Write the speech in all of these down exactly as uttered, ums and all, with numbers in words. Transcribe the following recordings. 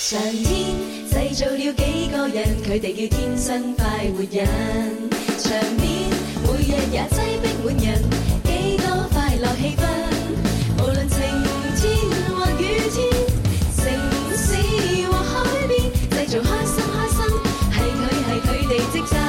上天製造了幾個人，佢哋叫天生快活人。場面每日也擠逼滿人，幾多快樂氣氛。無論晴天或雨天，城市或海邊，製造開心開心，係佢係佢哋職責。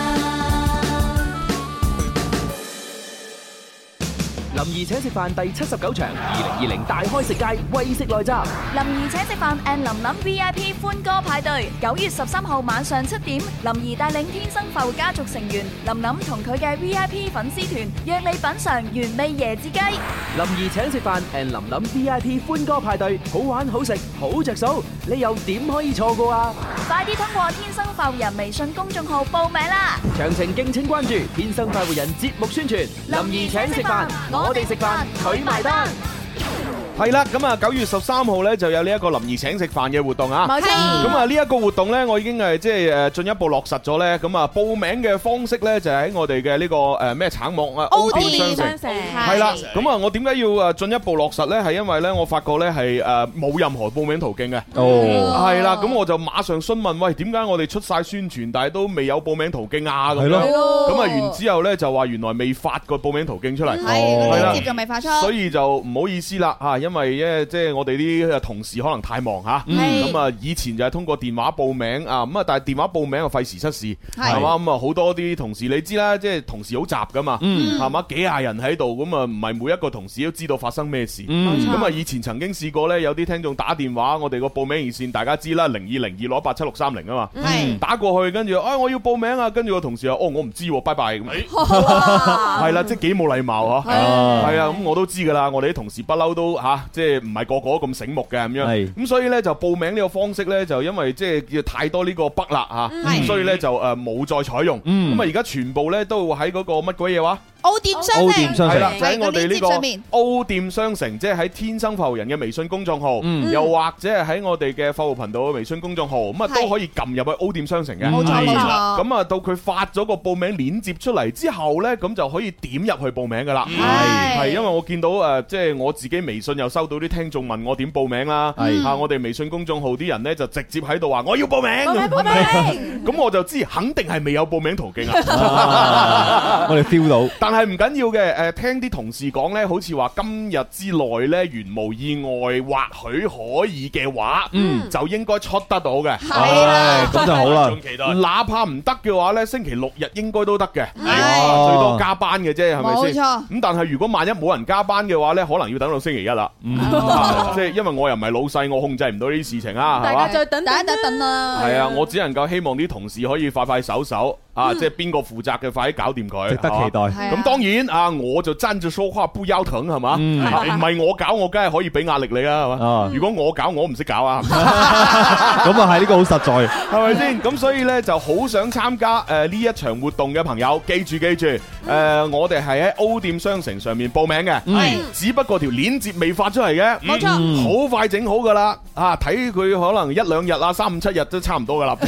林兒請食飯第七十九場，二零二零大開食界，為食來襲。 林兒請食飯 and 林林 V I P 歡歌派對，九月十三號晚上七點，林兒帶領天生快活家族成員林林同佢嘅 V I P 粉絲團，約你品嚐原味椰子雞。 林兒請食飯 and 林林 V I P 歡歌派對，好玩好食好着數，你又點可以錯過啊？ 快啲通過天生快活人微信公眾號報名啦！ 詳情敬請關注天生快活人節目宣傳。林兒請食飯，我哋食飯，佢埋單。 係啦，咁啊九月十三號咧就有呢一個林兒請食飯嘅活動啊。 冇錯。 咁啊呢一個活動咧，我已經係即係誒進一步落實咗咧。咁啊報名嘅方式咧就喺我哋嘅呢個誒咩橙網啊歐店商城。係啦。咁啊我點解要誒進一步落實咧？係因為咧我發覺咧係誒冇任何報名途徑嘅。哦。係啦，咁我就馬上詢問，喂，點解我哋出晒宣傳，但係都未有報名途徑啊？咁樣。係咯。咁啊完之後咧就話原來未發個報名途徑出嚟。 係。係啦。接仲未發出。 所以就唔好意思啦嚇，因為咧即係我哋啲同事可能太忙嚇，咁啊以前就係通過電話報名啊，咁啊但係電話報名啊費時失事，係嘛，咁啊好多啲同事你知啦，即係同事好雜噶嘛，係嘛，幾廿人喺度，咁啊唔係每一個同事都知道發生咩事，咁啊以前曾經試過咧，有啲聽眾打電話，我哋個報名熱線大家知啦，零二零二六一八七六三零啊嘛，打過去跟住啊我要報名啊，跟住個同事話哦我唔知喎，拜拜咁，係啦，即係幾冇禮貌嚇，係啊，咁我都知㗎啦，我哋啲同事不嬲都嚇，即係唔係個個咁醒目嘅咁樣，咁所以咧就報名呢個方式咧就因為即係叫太多呢個北啦嚇，所以咧就誒冇再採用，咁啊而家全部咧都會喺嗰個乜鬼嘢話？ O店商城係啦，就喺我哋呢個 O店商城，即係喺天生快活人嘅微信公眾號，又或者係喺我哋嘅快活頻道嘅微信公眾號，咁啊都可以撳入去 O店商城嘅。冇錯冇錯。咁啊到佢發咗個報名鏈接出嚟之後咧，咁就可以點入去報名噶啦。係係，因為我見到誒，即係我自己微信又收到啲聽眾問我點報名啦。係啊，我哋微信公眾號啲人咧就直接喺度話我要報名。報名報名。咁我就知肯定係未有報名途徑啊。 我哋 feel 到。但係唔緊要嘅，誒聽啲同事講咧，好似話今日之內咧，如無意外，或許可以嘅話，嗯，就應該出得到嘅。 係啦，咁就好啦。 哪怕唔得嘅話咧，星期六日應該都得嘅。係，最多加班嘅啫，係咪先？冇錯。咁但係如果萬一冇人加班嘅話咧，可能要等到星期一啦。即係因為我又唔係老細，我控制唔到呢啲事情啊，係嘛？ 大家再等等一等啦。 係啊，我只能夠希望啲同事可以快快手手。啊！即係邊個負責嘅，快啲搞掂佢， 值得期待。 咁當然啊，我就站住說話不腰疼係嘛？唔係我搞，我梗係可以俾壓力你啊，係嘛？如果我搞，我唔識搞啊。咁啊係呢個好實在， 係咪先？咁所以咧就好想參加誒呢一場活動嘅朋友，記住記住，誒我哋係喺 O 店商城上面報名嘅，係只不過條鏈接未發出嚟嘅，冇錯，好快整好噶啦。啊，睇佢可能一兩日啊，三五七日都差唔多噶啦。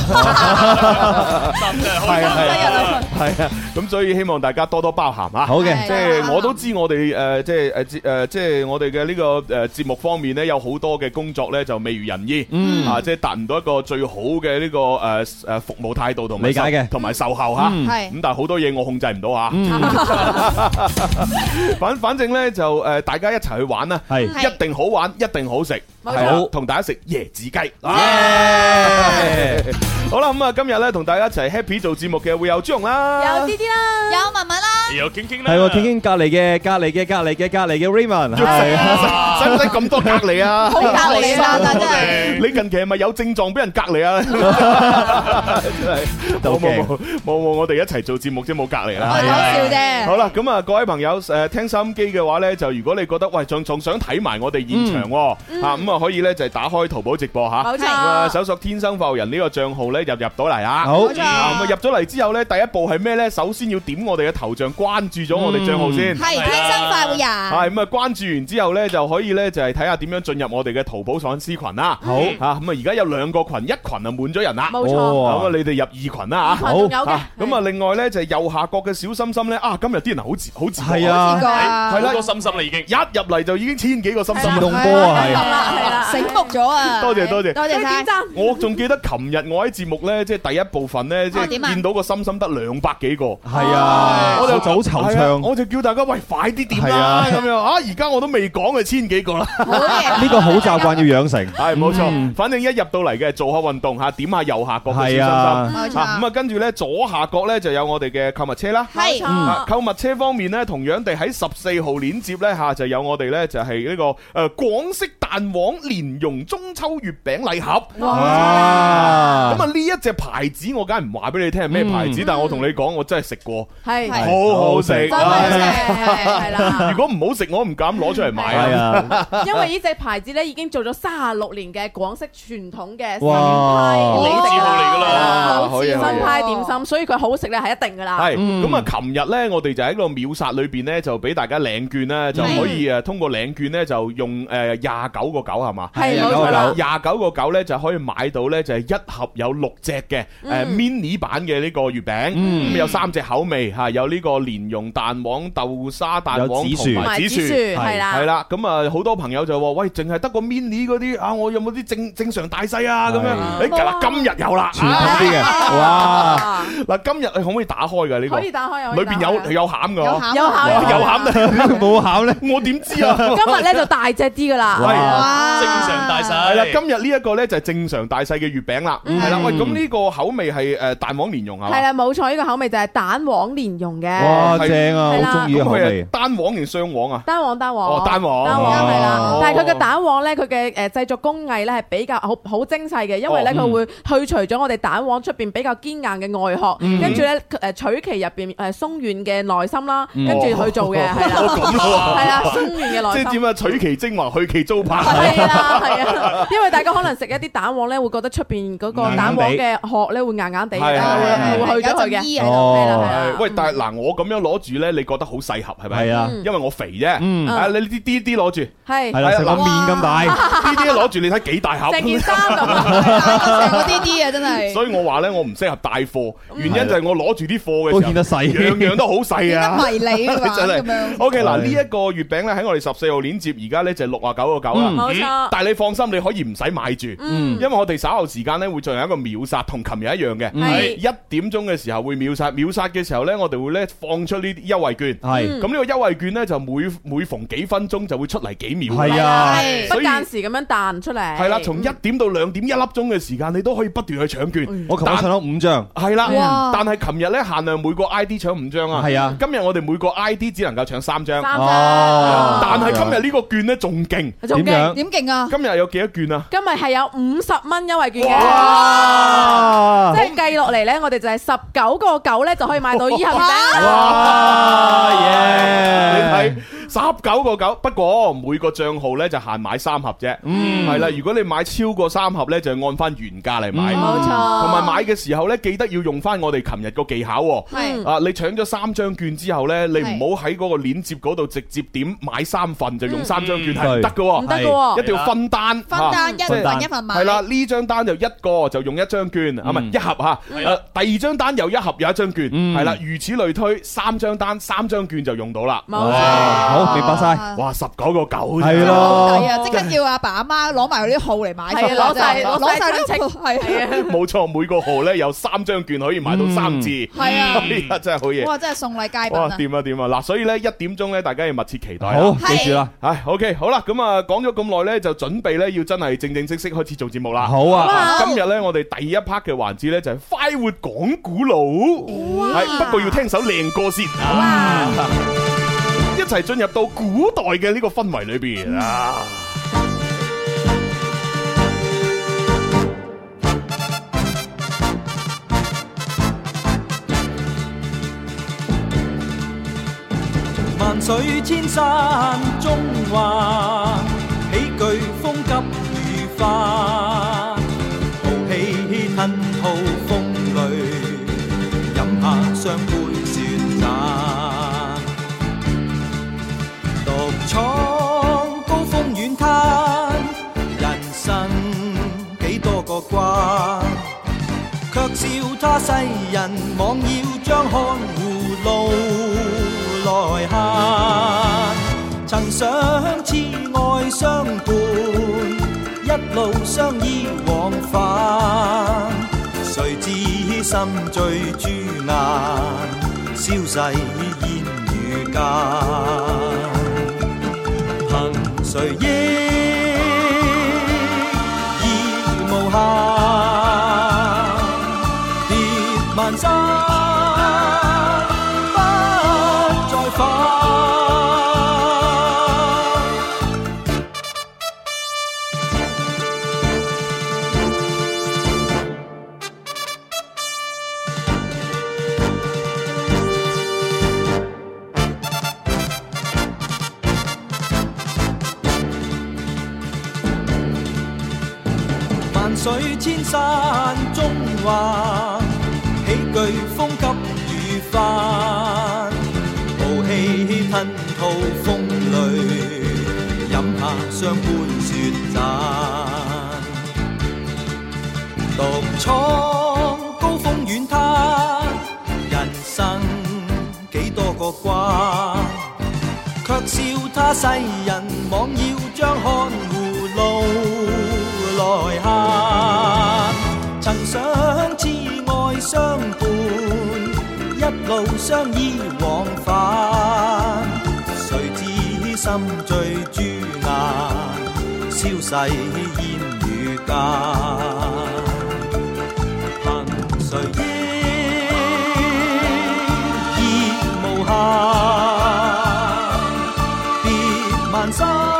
係啊。係啊，咁所以希望大家多多包涵啊！好嘅，即係我都知我哋誒，即係誒，誒，即係我哋嘅呢個誒節目方面咧，有好多嘅工作咧就未如人意，嗯啊，即係達唔到一個最好嘅呢個誒誒服務態度同埋理解嘅，同埋售後吓，係咁，但係好多嘢我控制唔到吓，反反正咧就誒大家一齊去玩啦，係一定好玩，一定好食，係好同大家食椰子雞。好啦，咁啊今日咧同大家一齊 happy 做節目嘅會有朱紅啦， 有啲啲啦，有文文啦， 有傾傾啦， 係喎，傾傾隔離嘅隔離嘅隔離嘅隔離嘅 Raymond， 使唔使咁多隔離啊？ 好隔離啊，真係！ 你近期係咪有症狀俾人隔離啊？冇冇冇冇冇，我哋一齊做節目啫，冇隔離啦。 講笑啫。 好啦，咁啊各位朋友誒聽收音機嘅話咧，就如果你覺得喂仲仲想睇埋我哋現場喎，啊咁啊可以咧就係打開淘寶直播嚇，冇錯，啊搜索天生快活人呢個帳號咧入入到嚟啊，好，咁啊入咗嚟之後咧，第一步係咩咧？首先要點我哋嘅頭像，關注咗我哋帳號先， 係天生快活人。 係咁啊，關注完之後咧，就可以咧就係睇下點樣進入我哋嘅淘寶粉絲群啦。好嚇，咁啊而家有兩個群，一群啊滿咗人啦，冇錯，咁啊你哋入二群啦嚇。好，咁啊另外咧就係右下角嘅小心心咧，啊今日啲人好自好自覺， 係啊， 係啦， 好多心心啦已經， 一入嚟就已經千幾個心心， 自動波啊，係啦係啦， 醒目咗啊！ 多謝多謝， 多謝晒。 我仲記得琴日我喺節目咧，即係第一部分咧，即係見到個心心得兩百幾個， 係啊，我就早惆悵， 我就叫大家喂快啲點啦咁樣啊！而家我都未講嘅千幾個啦， 呢個好習慣要養成， 係冇錯。反正一入到嚟嘅做下運動嚇，點下右下角嘅小心心， 冇錯。 咁啊跟住咧左下角咧就有我哋嘅購物車啦， 係。 購物車方面咧，同樣地喺十四號鏈接咧嚇就有我哋咧就係呢個誒廣式蛋黃蓮蓉中秋月餅禮盒。哇！咁啊呢一隻牌子我梗係唔話俾你聽係咩牌子，但係我同你講我真係食過，係好好食， 真係係啦。 如果唔好食，我唔敢攞出嚟賣啊。 因為呢隻牌子咧已經做咗三十六年嘅廣式傳統嘅新派老字號嚟㗎啦， 新派點心，所以佢好食咧係一定㗎啦。 係咁啊！琴日咧我哋就喺個秒殺裏邊咧就俾大家領券咧，就可以誒通過領券咧就用誒廿九個九係嘛？係冇錯啦，廿九個九咧就可以買到咧就係一盒有六隻嘅誒 mini 版嘅呢個月餅，咁有三隻口味嚇，有呢個蓮蓉蛋黃、豆沙蛋黃同埋紫薯，係啦，係啦。咁啊好多朋友就話：喂，淨係得個 mini 嗰啲啊，我有冇啲正正常大細啊？咁樣誒嗱，今日有啦，傳統啲嘅，哇！嗱，今日你可唔可以打開㗎呢個？ 可以打開， 裏邊有有餡㗎， 有餡， 有餡，冇餡咧，我點知啊？ 今日咧就大隻啲㗎啦， 哇！正常大細係啦，今日呢一個咧就係正常大細嘅月餅啦，係啦。喂，咁呢個口味係誒蛋黃蓮蓉啊？ 係啦，冇錯，呢個口味就係蛋黃蓮蓉嘅。 哇，正啊，好中意嘅口味。 單黃定雙黃啊？ 單黃單黃。 哦，單黃。 單黃係啦，但係佢嘅蛋黃咧，佢嘅誒製作工藝咧係比較好好精細嘅，因為咧佢會去除咗我哋蛋黃出邊比較堅硬嘅外殼，跟住咧誒取其入邊誒鬆軟嘅內心啦，跟住去做嘅係啦。 咁咯， 係啦，鬆軟嘅內心。 即係點啊？取其精華，去其糟粕。 係啦，係啊，因為大家可能食一啲蛋黃咧，會覺得出邊嗰個蛋黃嘅殼咧會硬硬地，會去咗佢嘅。係啦，係啦。 喂，但係嗱，我咁樣攞住咧，你覺得好細盒係咪？係啊，因為我肥啫。嗯。啊，你啲啲啲攞住。係。係啦，成個面咁大。啲啲攞住，你睇幾大盒？ 成件衫咁啊！ 成個啲啲啊，真係。 所以我話咧，我唔適合帶貨，原因就係我攞住啲貨嘅時候， 都顯得細， 樣樣都好細啊。 迷你啊嘛，真係。 O K，嗱呢一個月餅咧喺我哋十四號鏈接，而家咧就六啊九個九啦。 冇錯。 但係你放心，你可以唔使買住，因為我哋稍後時間咧會進行一個秒殺，同琴日一樣嘅。係一點鐘嘅時候會秒殺，秒殺嘅時候咧，我哋會咧放出呢啲優惠券。係。咁呢個優惠券咧就每每逢幾分鐘就會出嚟幾秒。 係啊。 不間時咁樣彈出嚟。 係啦，從一點到兩點一粒鐘嘅時間，你都可以不斷去搶券。 我琴日搶咗五張。係啦。但係琴日咧限量每個 I D 搶五張啊。係啊。今日我哋每個 I D 只能夠搶三張。三張。但係今日呢個券咧仲勁。 仲勁？ 點勁啊？ 今日有幾多券啊？ 今日係有五十蚊優惠券嘅。即係計落嚟咧，我哋就係十九個九咧就可以買到呢盒餅。 哇！耶！你睇十九個九，不過每個賬號咧就限買三盒啫。嗯。係啦，如果你買超過三盒咧，就按翻原價嚟買。 冇錯。 同埋買嘅時候咧，記得要用翻我哋琴日個技巧。 係。 啊，你搶咗三張券之後咧，你唔好喺嗰個鏈接嗰度直接點買三份就用三張券係唔得嘅。 唔得嘅。 一定要分單。 分單一份一份買。 係啦，呢張單就一個就用一張券，啊唔係一盒吓。誒，第二張單又一盒有一張券，係啦，如此類推，三張單三張券就用到啦。 冇錯。好， 明白晒。 哇，十九個九。 係咯。 好抵啊！即刻叫阿爸阿媽攞埋嗰啲號嚟買。 係啊，攞晒攞晒啲錢。 係啊。 冇錯，每個號咧有三張券可以買到三次。係啊，真係好嘢。 哇，真係送禮佳品啊！掂啊掂啊！嗱，所以咧一點鐘咧，大家要密切期待。 好，記住啦。 唉 ，OK，好啦，咁啊講咗咁耐咧，就準備咧要真係正正式式開始做節目啦。 好啊。 今日咧我哋第一 part 嘅環節咧就係快活講古佬。係，不過要聽首靚歌先。哇！一齊進入到古代嘅呢個氛圍裏邊啊！ 萬水千山中華，喜劇風急雨花，豪氣吞吐風雷，飲下雙杯雪盞，獨闖高峰遠灘，人生幾多個關，卻笑他世人妄要將看護路來行，曾想痴愛相伴，一一路相依往返，誰知心醉朱顏，消逝煙雨間。憑誰憶意無限，跌萬山不再返。水千山中環，喜劇風急雨翻，豪氣吞吐風雷，飲下雙杯雪盞，獨闖高峰遠灘，人生幾多個關，卻笑他世人妄要將看護路來行，曾想痴愛相伴，一路相依往返，誰知心醉朱顏，消逝煙雨間。憑誰憶意無限，別萬山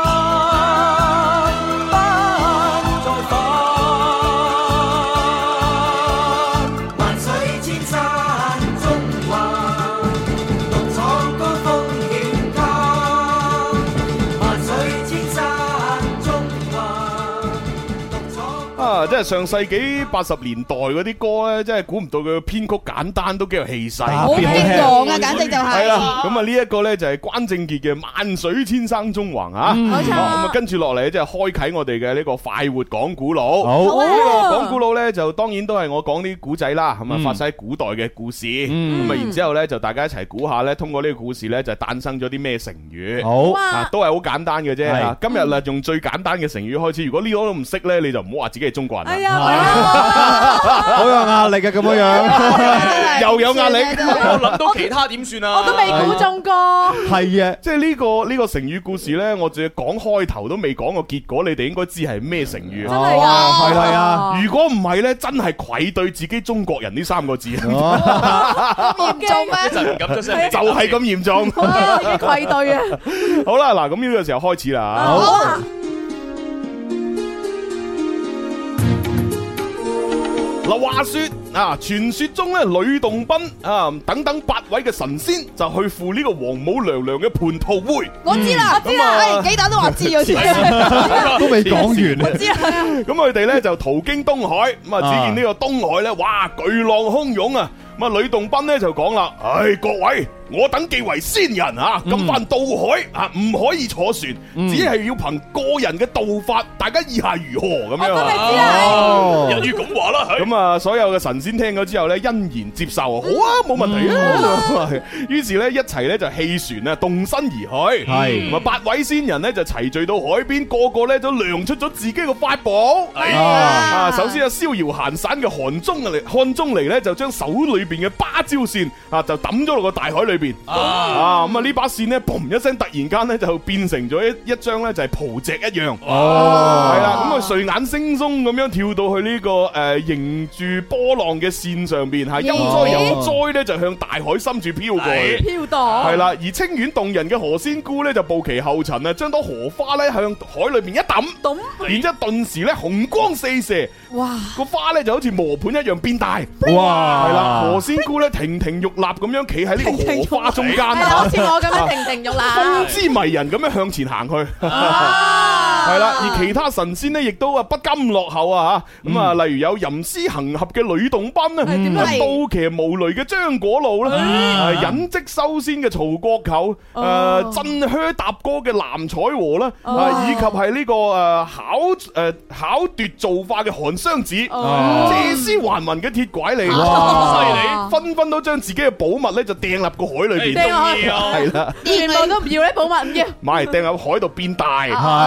即係上世紀八十年代嗰啲歌咧，真係估唔到佢嘅編曲簡單，都幾有氣勢， 好激昂啊！簡直就係。 係啦，咁啊呢一個咧就係關正傑嘅《萬水千山縱橫》啊。 冇錯。 咁啊跟住落嚟即係開啟我哋嘅呢個快活講古佬。 好。 呢個講古佬咧就當然都係我講啲古仔啦，咁啊發生喺古代嘅故事。咁啊然之後咧就大家一齊估下咧，通過呢個故事咧就誕生咗啲咩成語。 好。 啊，都係好簡單嘅啫。今日啦用最簡單嘅成語開始，如果呢個都唔識咧，你就唔好話自己係中國人啦。 哎呀！ 好有壓力嘅咁樣樣， 又有壓力。 我諗到其他點算啊？ 我都未估中過。 係啊， 即係呢個呢個成語故事咧，我淨係講開頭都未講個結果，你哋應該知係咩成語。 真係啊， 係咪啊？ 如果唔係咧，真係愧對自己中國人呢三個字。 嚴重咩？ 一陣唔敢出聲， 就係咁嚴重。 幾愧對啊！ 好啦，嗱，咁呢個時候開始啦。 好。 嗱，話說啊，傳說中咧，呂洞賓啊等等八位嘅神仙就去赴呢個王母娘娘嘅蟠桃會。 我知啦，我知啦，誒幾打都話知嗰次， 都未講完。 我知啦。 咁佢哋咧就途經東海，咁啊只見呢個東海咧，哇巨浪洶湧啊！咁啊呂洞賓咧就講啦，唉各位，我等既為仙人啊，咁番渡海啊，唔可以坐船，只係要憑個人嘅道法，大家意下如何咁樣啊？ 一於咁話啦， 咁啊，所有嘅神仙聽咗之後咧，欣然接受，好啊，冇問題啊。於是咧，一齊咧就棄船啊，動身而去。係咁啊，八位仙人咧就齊聚到海邊，個個咧都亮出咗自己嘅法寶。啊，首先啊，逍遙閒散嘅韓中嚟，漢中嚟咧就將手裏邊嘅芭蕉扇啊，就抌咗落個大海裏邊。啊，咁啊呢把扇咧，嘣一聲，突然間咧就變成咗一一張咧就係蒲席一樣。哦，係啦，咁啊睡眼惺忪咁樣跳到去呢個誒迎住波浪嘅線上邊，係悠哉悠哉咧就向大海深處飄過去。 飄蕩。係啦，而清遠動人嘅何仙姑咧就步其後塵啊，將朵荷花咧向海裏邊一抌，抌，然之後頓時咧紅光四射。哇！個花咧就好似磨盤一樣變大。哇！係啦，何仙姑咧亭亭玉立咁樣企喺呢個荷花中間， 好似我咁樣亭亭玉立， 風姿迷人咁樣向前行去。係啦，而其他神仙咧亦都啊不甘落後啊吓，咁啊例如有吟詩行俠嘅呂洞賓啊，刀騎無雷嘅張果老啦，隱跡修仙嘅曹國舅，誒振靴踏歌嘅藍采和啦，啊以及係呢個誒巧誒巧奪造化嘅韓湘子，借屍還魂嘅鐵拐李，犀利，紛紛都將自己嘅寶物咧就掟入個海裏邊，係啦， 全部都唔要咧寶物，唔要， 唔係掟入海度變大，係。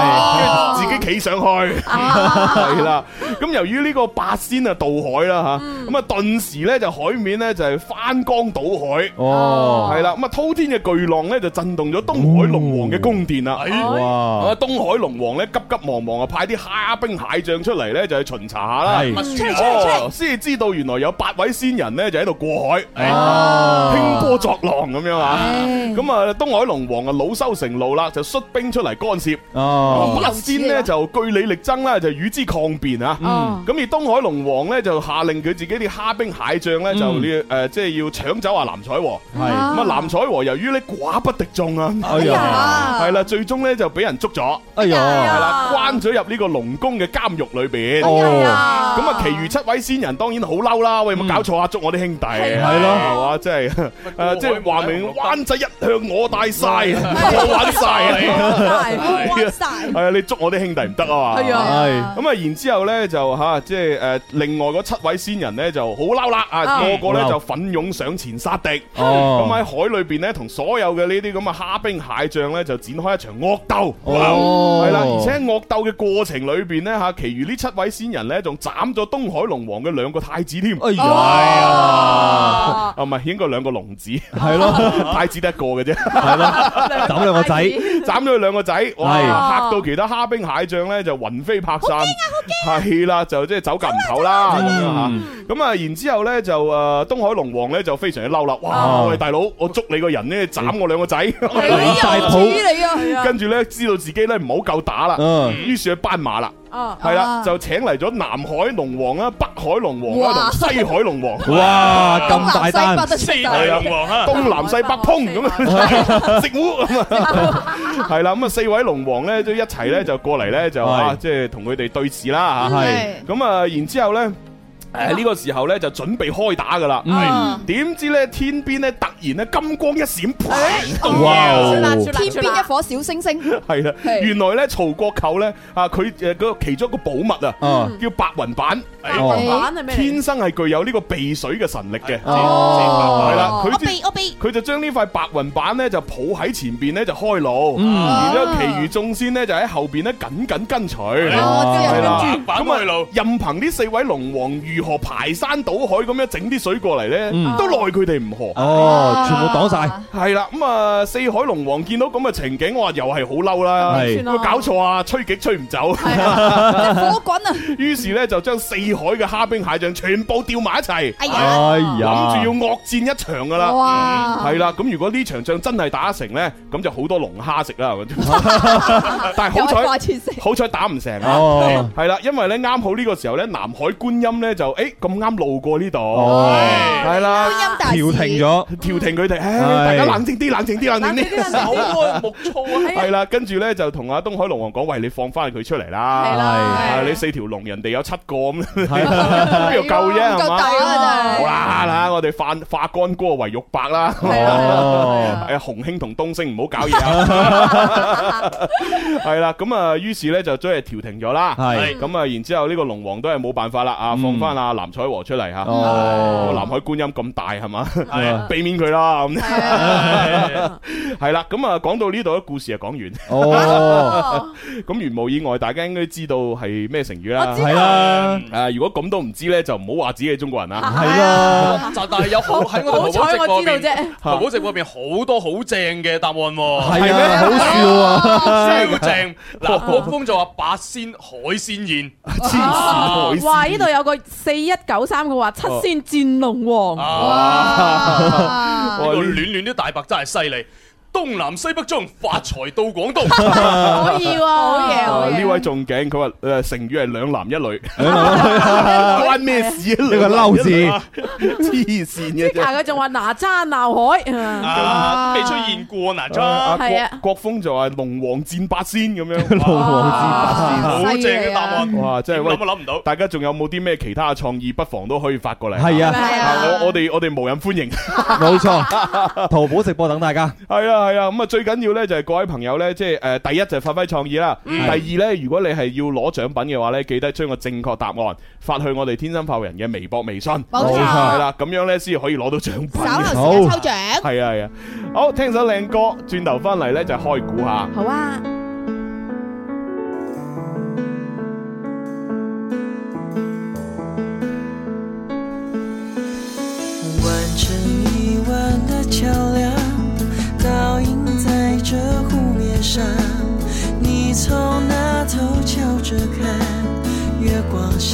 自己企上去，係啦。咁由於呢個八仙啊渡海啦吓，咁啊頓時咧就海面咧就係翻江倒海，哦，係啦。咁啊滔天嘅巨浪咧就震動咗東海龍王嘅宮殿啦。哇！東海龍王咧急急忙忙啊派啲蝦兵蟹將出嚟咧就去巡查下啦。哦，先至知道原來有八位仙人咧就喺度過海，興波作浪咁樣啊。咁啊東海龍王啊惱羞成怒啦，就率兵出嚟干涉。哦，八仙咧就據理力爭啦，就與之抗辯啊。咁而東海龍王咧就下令佢自己啲蝦兵蟹將咧就呢誒即係要搶走阿藍采和。係咁啊藍采和由於咧寡不敵眾啊，哎呀，係啦，最終咧就俾人捉咗。哎呀，係啦，關咗入呢個龍宮嘅監獄裏邊。哦，咁啊，其餘七位仙人當然好嬲啦，喂，有冇搞錯啊？捉我啲兄弟，係咯，係嘛，即係誒，即係話明灣仔一向我帶晒，我玩晒，我玩晒，係啊，你捉我啲兄弟唔得啊嘛。係啊，咁啊，然之後咧就吓，即係誒，另外嗰七位仙人咧就好嬲啦，啊，個個咧就奮勇上前殺敵。哦，咁喺海裏邊咧，同所有嘅呢啲咁嘅蝦兵蟹將咧就展開一場惡鬥。哦，係啦，而且喺惡鬥嘅過程裏邊咧吓，其餘呢七位仙人咧仲斬咗東海龍王嘅兩個太子添。哎呀，啊唔係，應該兩個龍子。係咯，太子得一個嘅啫。係咯，斬兩個仔，斬咗佢兩個仔，哇！嚇到其他蝦兵蟹將咧就魂飛魄散。好驚啊！好驚！係啦，就即係走夾唔唞啦咁樣吓。咁啊，然之後咧就誒東海龍王咧就非常之嬲啦。哇！喂，大佬，我捉你個人咧斬我兩個仔，離晒譜。跟住咧知道自己咧唔好夠打啦，於是去斑馬啦。係啦，就請嚟咗南海龍王啦、北海龍王啦同西海龍王。哇，咁大單，四海龍王啊，東南西北砰咁啊，食糊咁啊，係啦，咁啊四位龍王咧都一齊咧就過嚟咧就啊，即係同佢哋對峙啦吓。係咁啊，然之後咧。誒呢個時候咧就準備開打噶啦，點知咧天邊咧突然咧金光一閃，哇！ 天邊一顆小星星， 係啦，原來咧曹國舅咧啊佢誒嗰個其中一個寶物啊，叫白雲板，白雲板係咩？天生係具有呢個避水嘅神力嘅，係啦，佢避我避，佢就將呢塊白雲板咧就抱喺前邊咧就開路，然之後其餘眾仙咧就喺後邊咧緊緊跟隨，係啦，咁啊任憑呢四位龍王如何排山倒海咁樣整啲水過嚟咧，都奈佢哋唔何。哦，全部擋晒。係啦，咁啊，四海龍王見到咁嘅情景，我話又係好嬲啦。係，佢搞錯啊，吹極吹唔走。係啊，火滾啊！於是咧就將四海嘅蝦兵蟹將全部調埋一齊。哎呀，諗住要惡戰一場噶啦。哇！係啦，咁如果呢場仗真係打成咧，咁就好多龍蝦食啦。但係好彩，好彩打唔成啊。係啦，因為咧啱好呢個時候咧，南海觀音咧就。誒，咁啱路過呢度，係啦，調停咗，調停佢哋，大家冷靜啲，冷靜啲，冷靜啲，手愛木醋啊，係啦，跟住咧就同阿東海龍王講，喂，你放翻佢出嚟啦，係，你四條龍，人哋有七個咁，邊度夠啫，係嘛？好啦，嗱，我哋化化干戈為玉帛啦，係洪興同東升唔好搞嘢啊，係啦，咁啊，於是咧就將佢調停咗啦，係，咁啊，然之後呢個龍王都係冇辦法啦，啊，放翻阿藍采和出嚟吓，南海觀音咁大係嘛，避免佢啦咁，係啦，咁啊講到呢度咧，故事就講完。哦，咁如無意外，大家應該知道係咩成語啦，係啦，誒，如果咁都唔知咧，就唔好話自己係中國人啦，係啦，就但係有好喺我哋淘寶直播邊，淘寶直播邊好多好正嘅答案，係咩？好笑啊，超正！嗱，國風就話八仙海鮮宴，黐線海鮮， 哇！呢度有個四一九三嘅話七仙戰龍王，哇！ 呢個暖暖啲大白真係犀利。東南西北中，發財到廣東。 可以喎，好嘢好嘢。 呢位仲勁，佢話誒成語係兩男一女，關咩事啊？呢個嬲字，黐線嘅。 即係佢仲話哪吒鬧海， 啊未出現過哪吒。 係啊， 國風就話龍王戰八仙咁樣。龍王戰八仙， 好正嘅答案。 哇，真係諗都諗唔到。 大家仲有冇啲咩其他嘅創意？不妨都可以發過嚟。 係啊， 我我哋我哋無任歡迎。 冇錯，淘寶直播等大家。 係啊。係啊，咁啊最緊要咧就係各位朋友咧，即係誒，第一就係發揮創意啦。第二咧，如果你係要攞獎品嘅話咧，記得將個正確答案發去我哋天生發人嘅微博、微信。冇錯，係啦，咁樣咧先可以攞到獎品。稍後時間抽獎。係啊係啊，好，聽首靚歌，轉頭翻嚟咧就開估下。 好啊。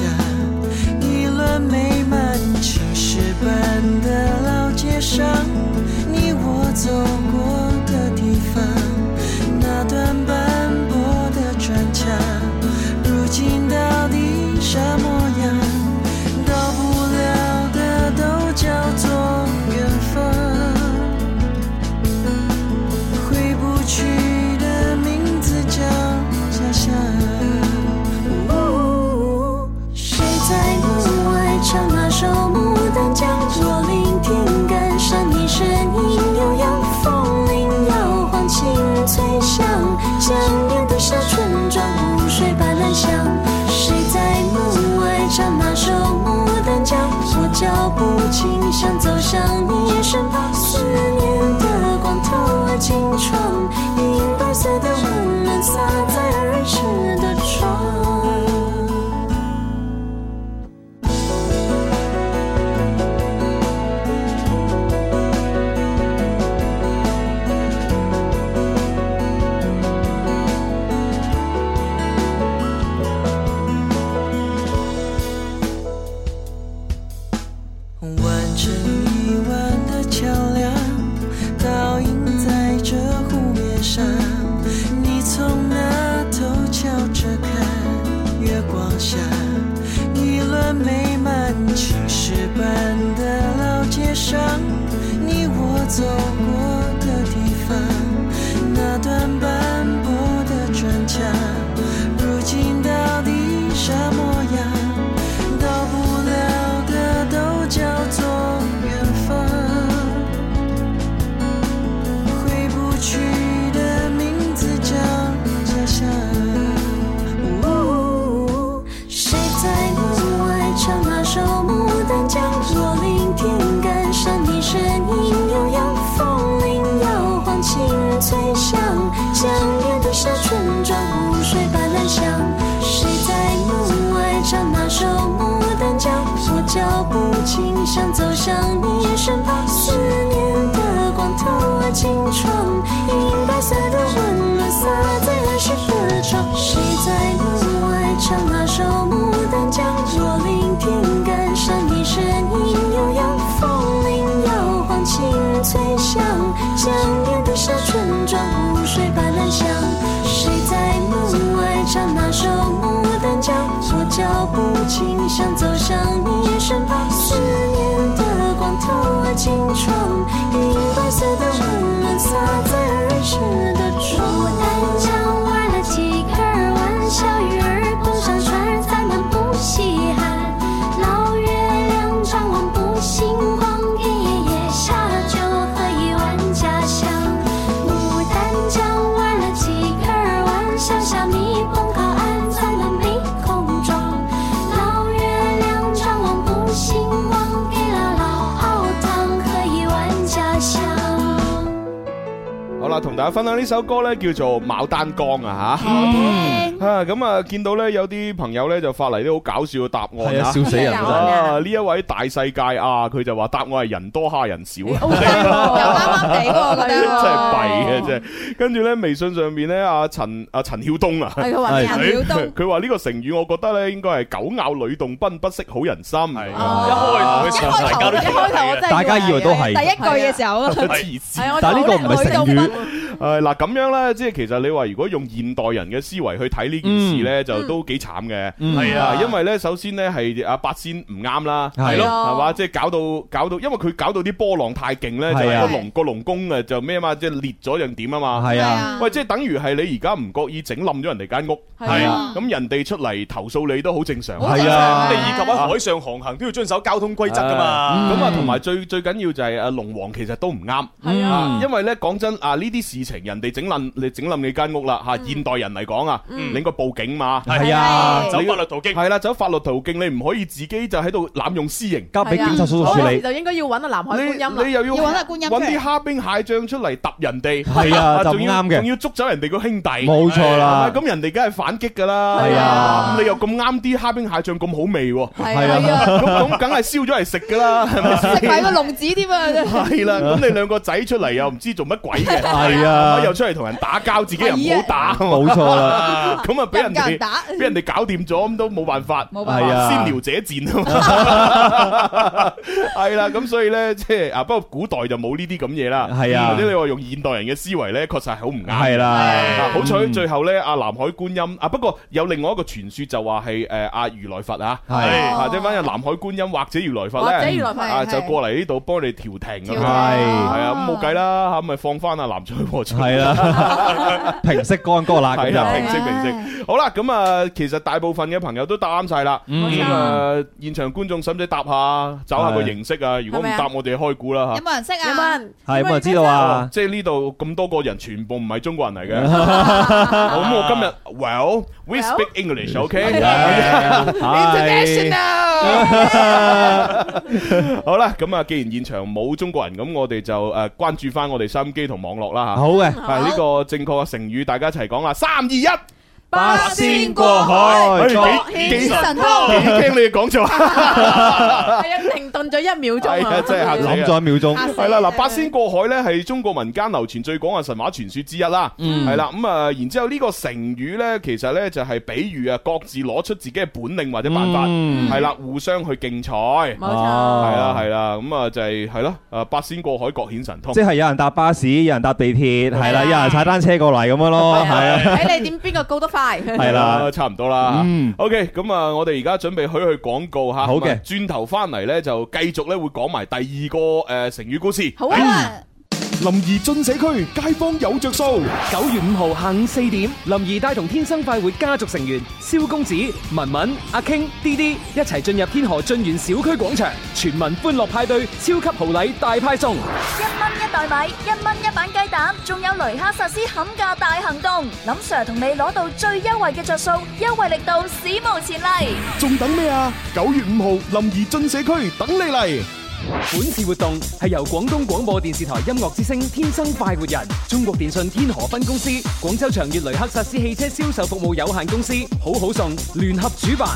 下，一轮美满青石板的老街上，你我走过的地方，那段斑驳的砖墙，如今到底啥模样？到不了的都叫做缘分，回不去的名字叫家乡。谁在门外唱那首牡丹江？若聆听感伤，你声音悠扬，风铃摇晃，清脆响，想念的是村庄湖水般蓝香。谁在门外唱那首牡丹江？我脚步轻，想走向你身旁，思念的光透了金窗，银白色的温暖洒在儿时的窗。完成一晚的桥梁，倒映在这湖面上，你从那头瞧着看，月光下一轮美满青石板的老街上，你我走过的地方，那段斑驳的砖墙，如今到底啥模样？到不了的都叫做缘分，回不去的名字叫家乡。谁在门外唱那首牡丹江？若聆听感伤，你声音悠扬，风铃摇晃，清脆响，想念的是村庄湖水般蓝香。谁在门外唱那首牡丹江？我脚步轻，想走向你身旁，思念的光透了金窗，银白色的温暖洒在儿时的窗。谁在门外唱那首牡丹江？若聆听感伤，你声音悠扬，风铃摇晃，清脆响，想念的是村庄湖水般蓝香。谁在门外唱那首牡丹江？我脚步轻，想走向你身旁，思念的光透了金窗，银白色的温暖洒在儿时的窗。牡丹江玩了几个玩笑，鱼儿蹦上船，咱们不稀罕。老月亮张望不星光，夜夜夜下酒喝一碗家乡。牡丹江玩了几个玩笑，虾米蹦靠岸，咱们没空装。老月亮张望不星光，给了老熬汤喝一碗家乡。 好啦，同大家分享呢首歌咧，叫做《牡丹江》啊吓。啊咁啊，見到咧有啲朋友咧就發嚟啲好搞笑嘅答案啊， 笑死人啊！呢一位大世界啊，佢就話答案係人多蝦人少，又啱啱地喎，我覺得真係弊嘅啫。跟住咧微信上邊咧，阿陳阿陳曉東啊， 係佢話陳曉東， 佢話呢個成語，我覺得咧應該係狗咬呂洞賓，不識好人心。係一開頭嘅時候，大家都一開頭我真係大家以為都係第一句嘅時候， 黐線。 但係呢個唔係成語。 誒嗱咁樣咧，即係其實你話如果用現代人嘅思維去睇呢件事咧，就都幾慘嘅。係啊，因為咧首先咧係阿八仙唔啱啦，係咯，係嘛，即係搞到搞到，因為佢搞到啲波浪太勁咧，就係個龍個龍宮誒就咩啊嘛，即係裂咗樣點啊嘛。係啊，喂，即係等於係你而家唔覺意整冧咗人哋間屋，係啊，咁人哋出嚟投訴你都好正常。係啊， 你以及喺海上航行都要遵守交通規則噶嘛。 咁啊，同埋最最緊要就係阿龍王其實都唔啱，係啊，因為咧講真啊，呢啲事情人哋整冧你整冧你間屋啦嚇，現代人嚟講啊，你應該報警嘛。係啊，走法律途徑。係啦，走法律途徑，你唔可以自己就喺度濫用私刑，交俾警察叔叔處理。就應該要揾阿南海觀音啦，你又要揾阿觀音，揾啲蝦兵蟹將出嚟揼人哋。係啊，就唔啱嘅，仲要捉走人哋個兄弟。冇錯啦，咁人哋梗係反擊㗎啦。係啊，咁你又咁啱啲蝦兵蟹將咁好味喎。係啊，咁咁梗係燒咗嚟食㗎啦，係咪先？食埋個龍子添啊！係啦，咁你兩個仔出嚟又唔知做乜鬼嘅。係啊。 啊，又出嚟同人打交，自己又唔好打， 冇錯啦。 咁啊，俾人哋打， 俾人哋搞掂咗，咁都冇辦法， 冇辦法， 先撩者賤啊！係啦，咁所以咧，即係啊，不過古代就冇呢啲咁嘢啦。 係啊， 或者你話用現代人嘅思維咧，確實係好唔啱。 係啦， 好彩最後咧，阿南海觀音啊，不過有另外一個傳說就話係誒阿如來佛啊，係啊，即係反正南海觀音或者如來佛咧，啊就過嚟呢度幫你調停咁，係係啊，咁冇計啦嚇，咪放翻阿南海和尚係啦， 平息干戈啦， 係啊，平息平息。好啦，咁啊，其實大部分嘅朋友都答啱晒啦。咁啊，現場觀眾使唔使答下，找下個形式啊？如果唔答，我哋開估啦嚇。 有冇人識啊？ 有冇人？ 係有冇人知道啊？ 即係呢度咁多個人，全部唔係中國人嚟嘅。咁我今日 Well we speak English，OK？ International。好啦，咁啊，既然現場冇中國人，咁我哋就誒關注翻我哋收音機同網絡啦嚇。 好嘅， 係呢個正確嘅成語，大家一齊講啦，三二一。 八仙過海， 幾幾神通， 幾驚你講錯， 係啊，停頓咗一秒鐘啊， 真係嚇死諗咗一秒鐘。 係啦，嗱，八仙過海咧係中國民間流傳最廣嘅神話傳說之一啦。係啦，咁啊，然之後呢個成語咧，其實咧就係比喻啊，各自攞出自己嘅本領或者辦法，係啦，互相去競賽。 冇錯， 係啦係啦，咁啊就係係咯，誒八仙過海各顯神通。 即係有人搭巴士，有人搭地鐵，係啦，有人踩單車過嚟咁樣咯，係啊。 睇你點邊個高得快。 係啦， 差唔多啦。 嗯 ，OK，咁啊，我哋而家準備去去廣告吓。 好嘅， 轉頭翻嚟咧就繼續咧會講埋第二個誒成語故事。 好啊。 林怡進社區，街坊有着數。九月五號下午四點，林怡帶同天生快活家族成員蕭公子、文文、阿 King、D D 一齊進入天河駿園小區廣場，全民歡樂派對，超級豪禮大派送。 一蚊一袋米，一蚊一板雞蛋，仲有雷克薩斯冚價大行動，林 Sir 同你攞到最優惠嘅着數，優惠力度史無前例。 仲等咩啊？九月五號，林怡進社區等你嚟。本次活動係由廣東廣播電視台音樂之聲天生快活人、中國電信天河分公司、廣州長悅雷克薩斯汽車銷售服務有限公司好好送聯合主辦。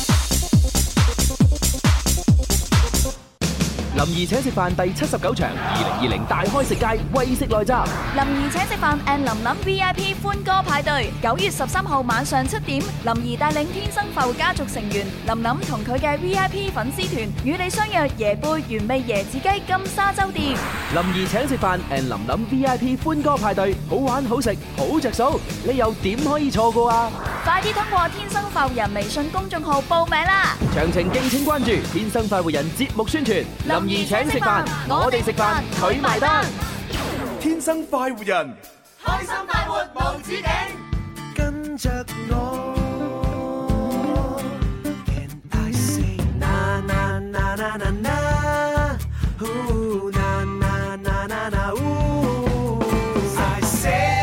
林兒請食飯第七十九場二零二零大開食街為食來襲。 林兒請食飯 and 林林 V I P 歡歌派對，九月十三號晚上七點，林兒帶領天生快活家族成員林林同佢嘅 V I P 粉絲團與你相約椰貝原味椰子雞金沙洲店。 林兒請食飯 and 林林 V I P 歡歌派對，好玩好食好着數，你又點可以錯過啊？ 快啲通過天生快活人微信公眾號報名啦！ 詳情敬請關注天生快活人節目宣傳。林兒請食飯，我哋食飯，佢埋單。 天生快活人， 開心快活無止境， 跟着我。Can I say na na na na na na? Ooh na na na na na ooh. I say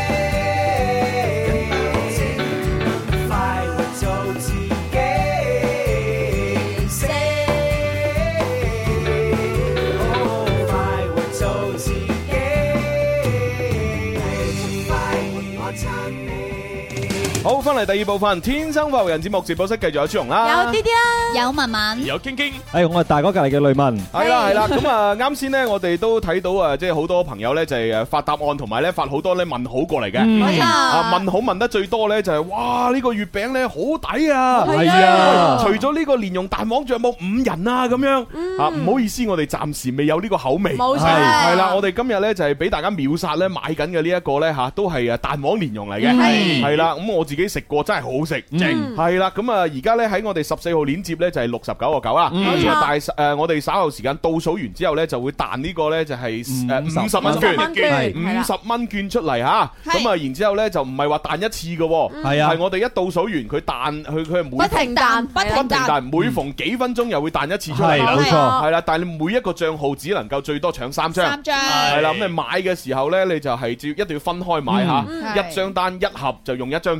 快活做自己。Say 快活做自己。快活我撐你。 好，翻嚟第二部分《天生快活人》節目直播室，繼續有朱紅啦， 有啲啲啦，有文文， 有傾傾。 誒，我係大哥隔離嘅雷文。 係啦係啦，咁啊啱先咧，我哋都睇到啊，即係好多朋友咧就係誒發答案，同埋咧發好多咧問號過嚟嘅。 冇錯， 啊問號問得最多咧就係哇呢個月餅咧好抵啊！ 係啊， 除咗呢個蓮蓉蛋黃，仲有冇五仁啊咁樣啊？唔好意思，我哋暫時未有呢個口味。 冇錯， 係啦，我哋今日咧就係俾大家秒殺咧買緊嘅呢一個咧嚇，都係誒蛋黃蓮蓉嚟嘅。 係係啦，咁我自己食過真係好好食，正係啦。咁啊而家咧喺我哋十四號鏈接咧就係六十九個九啊。咁啊大誒我哋稍後時間倒數完之後咧就會彈呢個咧就係誒五十蚊券，五十蚊券出嚟嚇。咁啊然之後咧就唔係話彈一次嘅喎， 係啊， 係我哋一倒數完佢彈，佢佢係每不停彈， 不停彈， 每逢幾分鐘又會彈一次出嚟， 係冇錯， 係啦。但係你每一個帳號只能夠最多搶三張， 三張， 係啦。咁你買嘅時候咧，你就係要一定要分開買嚇，一張單一盒就用一張券，係啦。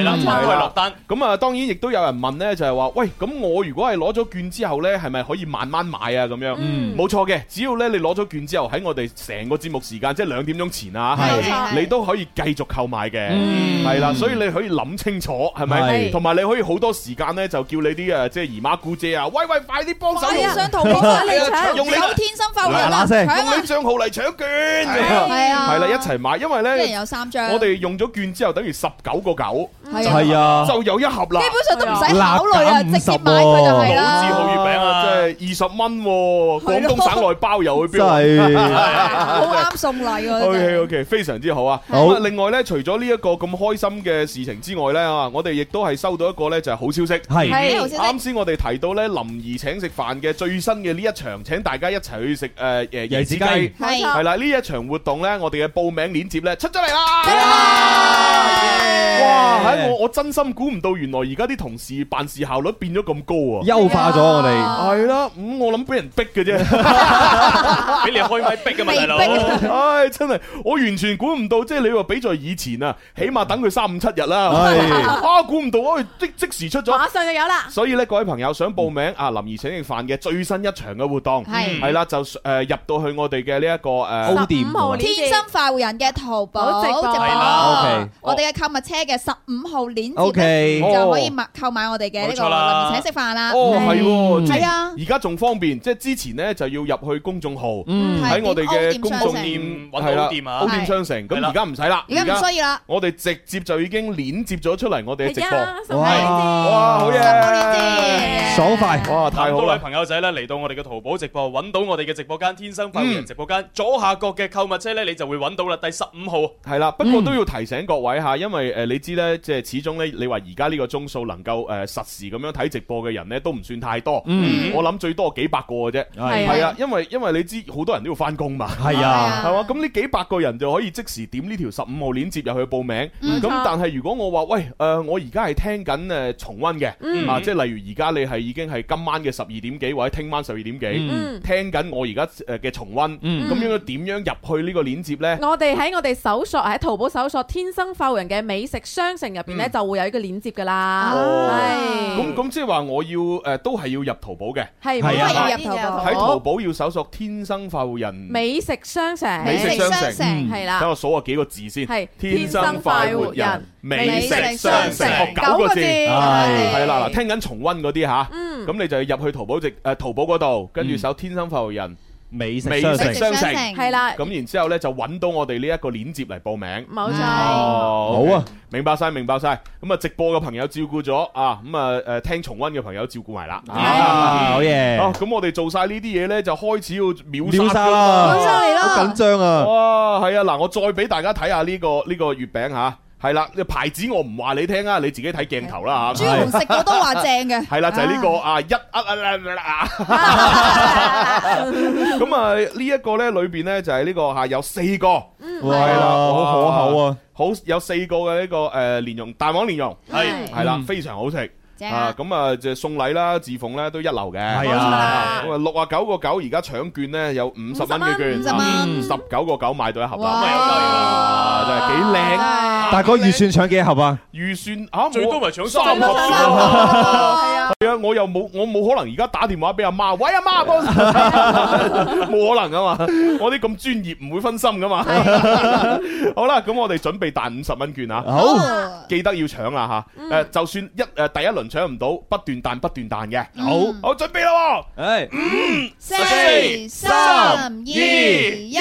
啦，可以落單。 咁啊，當然亦都有人問咧，就係話，喂，咁我如果係攞咗券之後咧，係咪可以慢慢買啊？咁樣，冇錯嘅，只要咧你攞咗券之後，喺我哋成個節目時間，即係兩點鐘前啊，你都可以繼續購買嘅，係啦，所以你可以諗清楚，係咪？同埋你可以好多時間咧，就叫你啲誒即係姨媽姑姐啊，喂喂，快啲幫手用上淘寶嚟搶， 用你天生快活人啊！ 用你帳號嚟搶券，係啊，係啦，一齊買，因為咧， 一人有三張， 我哋用咗券之後，等於十九個九， 係啊， 就有一盒啦， 基本上都唔使考慮啊，直接買佢就係啦。 老字號月餅啊，即係二十蚊，廣東省內包郵去邊？ 真係好啱送禮喎。 O K O K， 非常之好啊！好，另外咧，除咗呢一個咁開心嘅事情之外咧啊，我哋亦都係收到一個咧就係好消息， 係啱先我哋提到咧林兒請食飯嘅最新嘅呢一場，請大家一齊去食誒誒椰子雞，係係啦，呢一場活動咧，我哋嘅報名鏈接咧出咗嚟啦！哇！喺我我真心估唔到，原來而家啲同事辦事效率變咗咁高啊！ 優化咗我哋係啦，咁我諗俾人逼嘅啫，俾你開咪逼嘅嘛，大佬！唉，真係我完全估唔到，即係你話比在以前啊，起碼等佢三五七日啦，啊，估唔到啊，即即時出咗， 馬上就有啦！ 所以咧，各位朋友想報名啊，林兒請食飯嘅最新一場嘅活動係係啦，就誒入到去我哋嘅呢一個誒 O 店天生快活人嘅淘寶直播，我哋嘅購物車嘅十五號鏈接就可以買購買我哋嘅呢個林兒請食飯啦。 哦，係喎， 係啊， 而家仲方便，即係之前咧就要入去公眾號，喺我哋嘅公眾店揾到店啊 ，O店商城。咁而家唔使啦， 而家唔需要啦， 我哋直接就已經鏈接咗出嚟我哋嘅直播。 哇， 哇，好嘢， 爽快， 哇，太好啦！ 多位朋友仔咧嚟到我哋嘅淘寶直播，揾到我哋嘅直播間天生快活人直播間左下角嘅購物車咧，你就會揾到啦。第十五號係啦，不過都要提醒各位嚇，因為誒你知咧，即係始終咧，你話而家呢個鐘數能夠誒實時咁樣睇直播嘅人咧，都唔算太多。我諗最多幾百個嘅啫。係啊，因為因為你知好多人都要翻工嘛。係啊，係嘛？咁呢幾百個人就可以即時點呢條十五號鏈接入去報名。咁但係如果我話喂誒，我而家係聽緊誒重溫嘅啊，即係例如而家你係已經係今晚嘅十二點幾或者聽晚十二點幾聽緊我而家誒嘅重溫，咁應該點樣入去呢個鏈接咧？ 我哋喺我哋搜索喺淘寶搜索天生快活人嘅美食商城入邊咧，就會有一個鏈接噶啦。係咁咁即係話我要誒都係要入淘寶嘅， 係係要入淘寶， 喺淘寶要搜索天生快活人美食商城， 美食商城係啦。 等我數下幾個字先， 係天生快活人美食商城，九個字係係啦嗱，聽緊重溫嗰啲吓，咁你就要入去淘寶直誒淘寶嗰度，跟住搜天生快活人美食商城係啦， 咁然之後咧就揾到我哋呢一個鏈接嚟報名。 冇錯， 好啊，明白晒，明白晒。咁啊，直播嘅朋友照顧咗啊，咁啊誒聽重溫嘅朋友照顧埋啦。 好嘢！ 啊，咁我哋做晒呢啲嘢咧，就開始要秒秒殺啦， 秒殺嚟啦， 好緊張啊！ 哇，係啊，嗱，我再俾大家睇下呢個呢個月餅吓。係啦，牌子我唔話你聽啊，你自己睇鏡頭啦嚇。 朱紅食過都話正嘅。係啦，就係呢個啊一啊啊！咁啊呢一個咧裏邊咧就係呢個嚇有四個，係啦，好可口啊！好有四個嘅呢個誒蓮蓉蛋黃蓮蓉，係係啦，非常好食。啊，咁啊就送禮啦，自奉咧都一流嘅。係啊，咁啊六啊九個九，而家搶券咧有五十蚊嘅券， 五十蚊， 十九個九買到一盒啦，哇，真係幾靚。 大哥預算搶幾盒啊？ 預算啊， 最多咪搶三盒。 係啊， 係啊，我又冇我冇可能而家打電話俾阿媽，喂阿媽，幫冇可能噶嘛，我啲咁專業唔會分心噶嘛。好啦，咁我哋準備彈五十蚊券啊， 好， 記得要搶啦吓。誒，就算一誒第一輪搶唔到，不斷彈不斷彈嘅。好，好準備啦，誒，五、 四、三、二、一。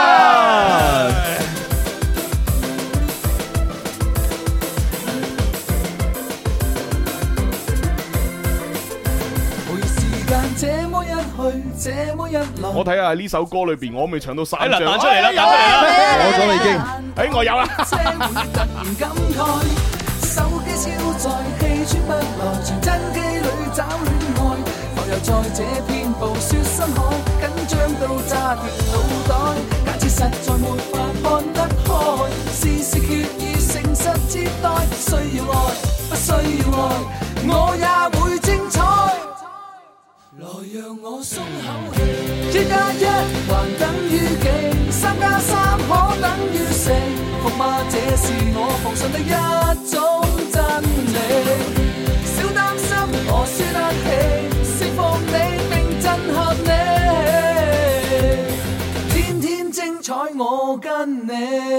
我睇下呢首歌裏邊，我未搶到三張。 彈出嚟啦，彈出嚟啦！ 攞咗已經， 哎，我有啦。 手機超載，氣喘不來，傳真機裏找戀愛，浮游在這片暴雪深海，緊張到炸斷腦袋，假設實在沒法看得開，事事決意誠實接待，需要愛，不需要愛，我也會精彩。來讓我鬆口氣，一加一還等於幾？三加三可等於四？服嗎？這是我奉上的一種。 真理。小擔心我輸得起，釋放你並震撼你，天天精彩我跟你。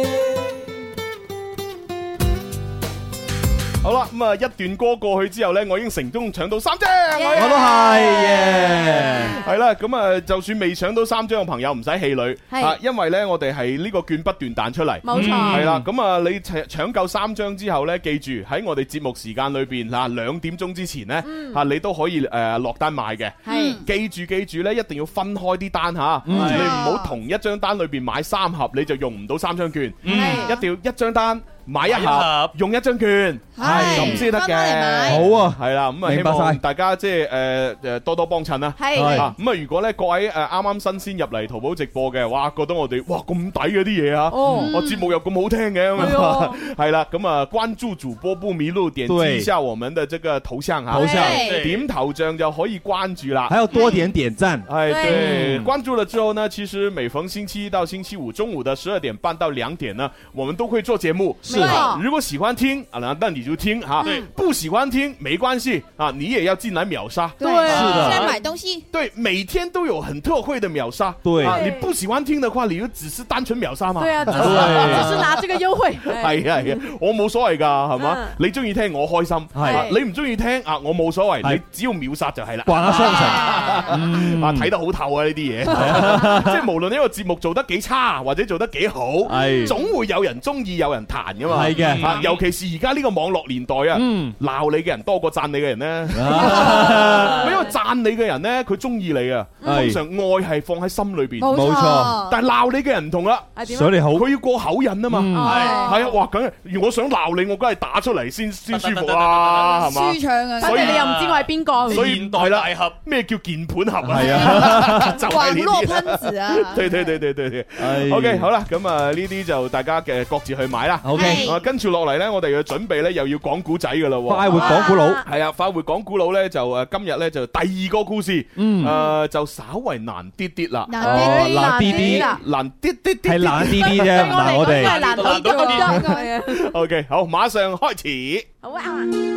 好啦，咁啊一段歌過去之後呢，我已經成功搶到三張， 我都係， 係啦，咁啊就算未搶到三張嘅朋友唔使氣餒，啊，因為呢我哋係呢個券不斷彈出嚟， 冇錯， 係啦，咁啊你搶搶夠三張之後呢，記住喺我哋節目時間裏邊嗱兩點鐘之前呢，嚇你都可以誒落單買嘅，係，記住記住呢，一定要分開啲單嚇，你唔好同一張單裏邊買三盒你就用唔到三張券，一定要一張單。買一盒用一張券，係咁先得嘅。 好啊， 係啦，咁啊希望大家即係誒誒多多幫襯啦。係啊，咁啊如果咧各位誒啱啱新鮮入嚟淘寶直播嘅，哇覺得我哋哇咁抵嗰啲嘢啊，我節目又咁好聽嘅咁啊，係啦，咁啊關注主播不迷路，點擊一下我們的這個頭像嚇，頭像點頭像就可以關注啦。 還有多點點讚， 係對，關注了之後呢，其實每逢星期一到星期五中午的十二點半到兩點呢，我們都會做節目。如果喜歡聽啊，那你就聽哈；不喜歡聽沒關係啊，你也要進來秒殺。 對，是的，先買東西。 對，每天都有很特惠的秒殺。 對啊，你不喜歡聽的話，你就只是單純秒殺嘛。 對啊，只是只是拿這個優惠。 係啊係啊，我冇所謂㗎，係嘛？你中意聽我開心，係你唔中意聽啊，我冇所謂，你只要秒殺就係啦。 慣下雙成， 啊睇得好透啊呢啲嘢，即係無論呢個節目做得幾差或者做得幾好，係總會有人中意有人彈㗎嘛。係嘅。啊，尤其是而家呢個網絡年代啊，鬧你嘅人多過讚你嘅人咧。因為讚你嘅人咧，佢中意你啊，通常愛係放喺心裏邊。 冇錯。 但係鬧你嘅人唔同啦， 想你好， 佢要過口癮啊嘛。係係啊，哇，梗係，如果想鬧你，我梗係打出嚟先先舒服啦，係嘛？ 舒暢啊！ 所以你又唔知我係邊個？ 所以現代大俠咩叫鍵盤俠啊？ 係啊， 就係呢啲噴子啊！ 對對對對對對。OK，好啦，咁啊呢啲就大家嘅各自去買啦。OK，啊跟住落嚟咧，我哋要準備咧，又要講古仔噶啦。 快活講古佬係啊，快活講古佬咧就誒今日咧就第二個故事，誒就稍為難啲啲啦。 難啲難啲啲， 難啲啲啲， 係難啲啲啫。嗱我哋難到啲啲。 OK，好，馬上開始。 好啊。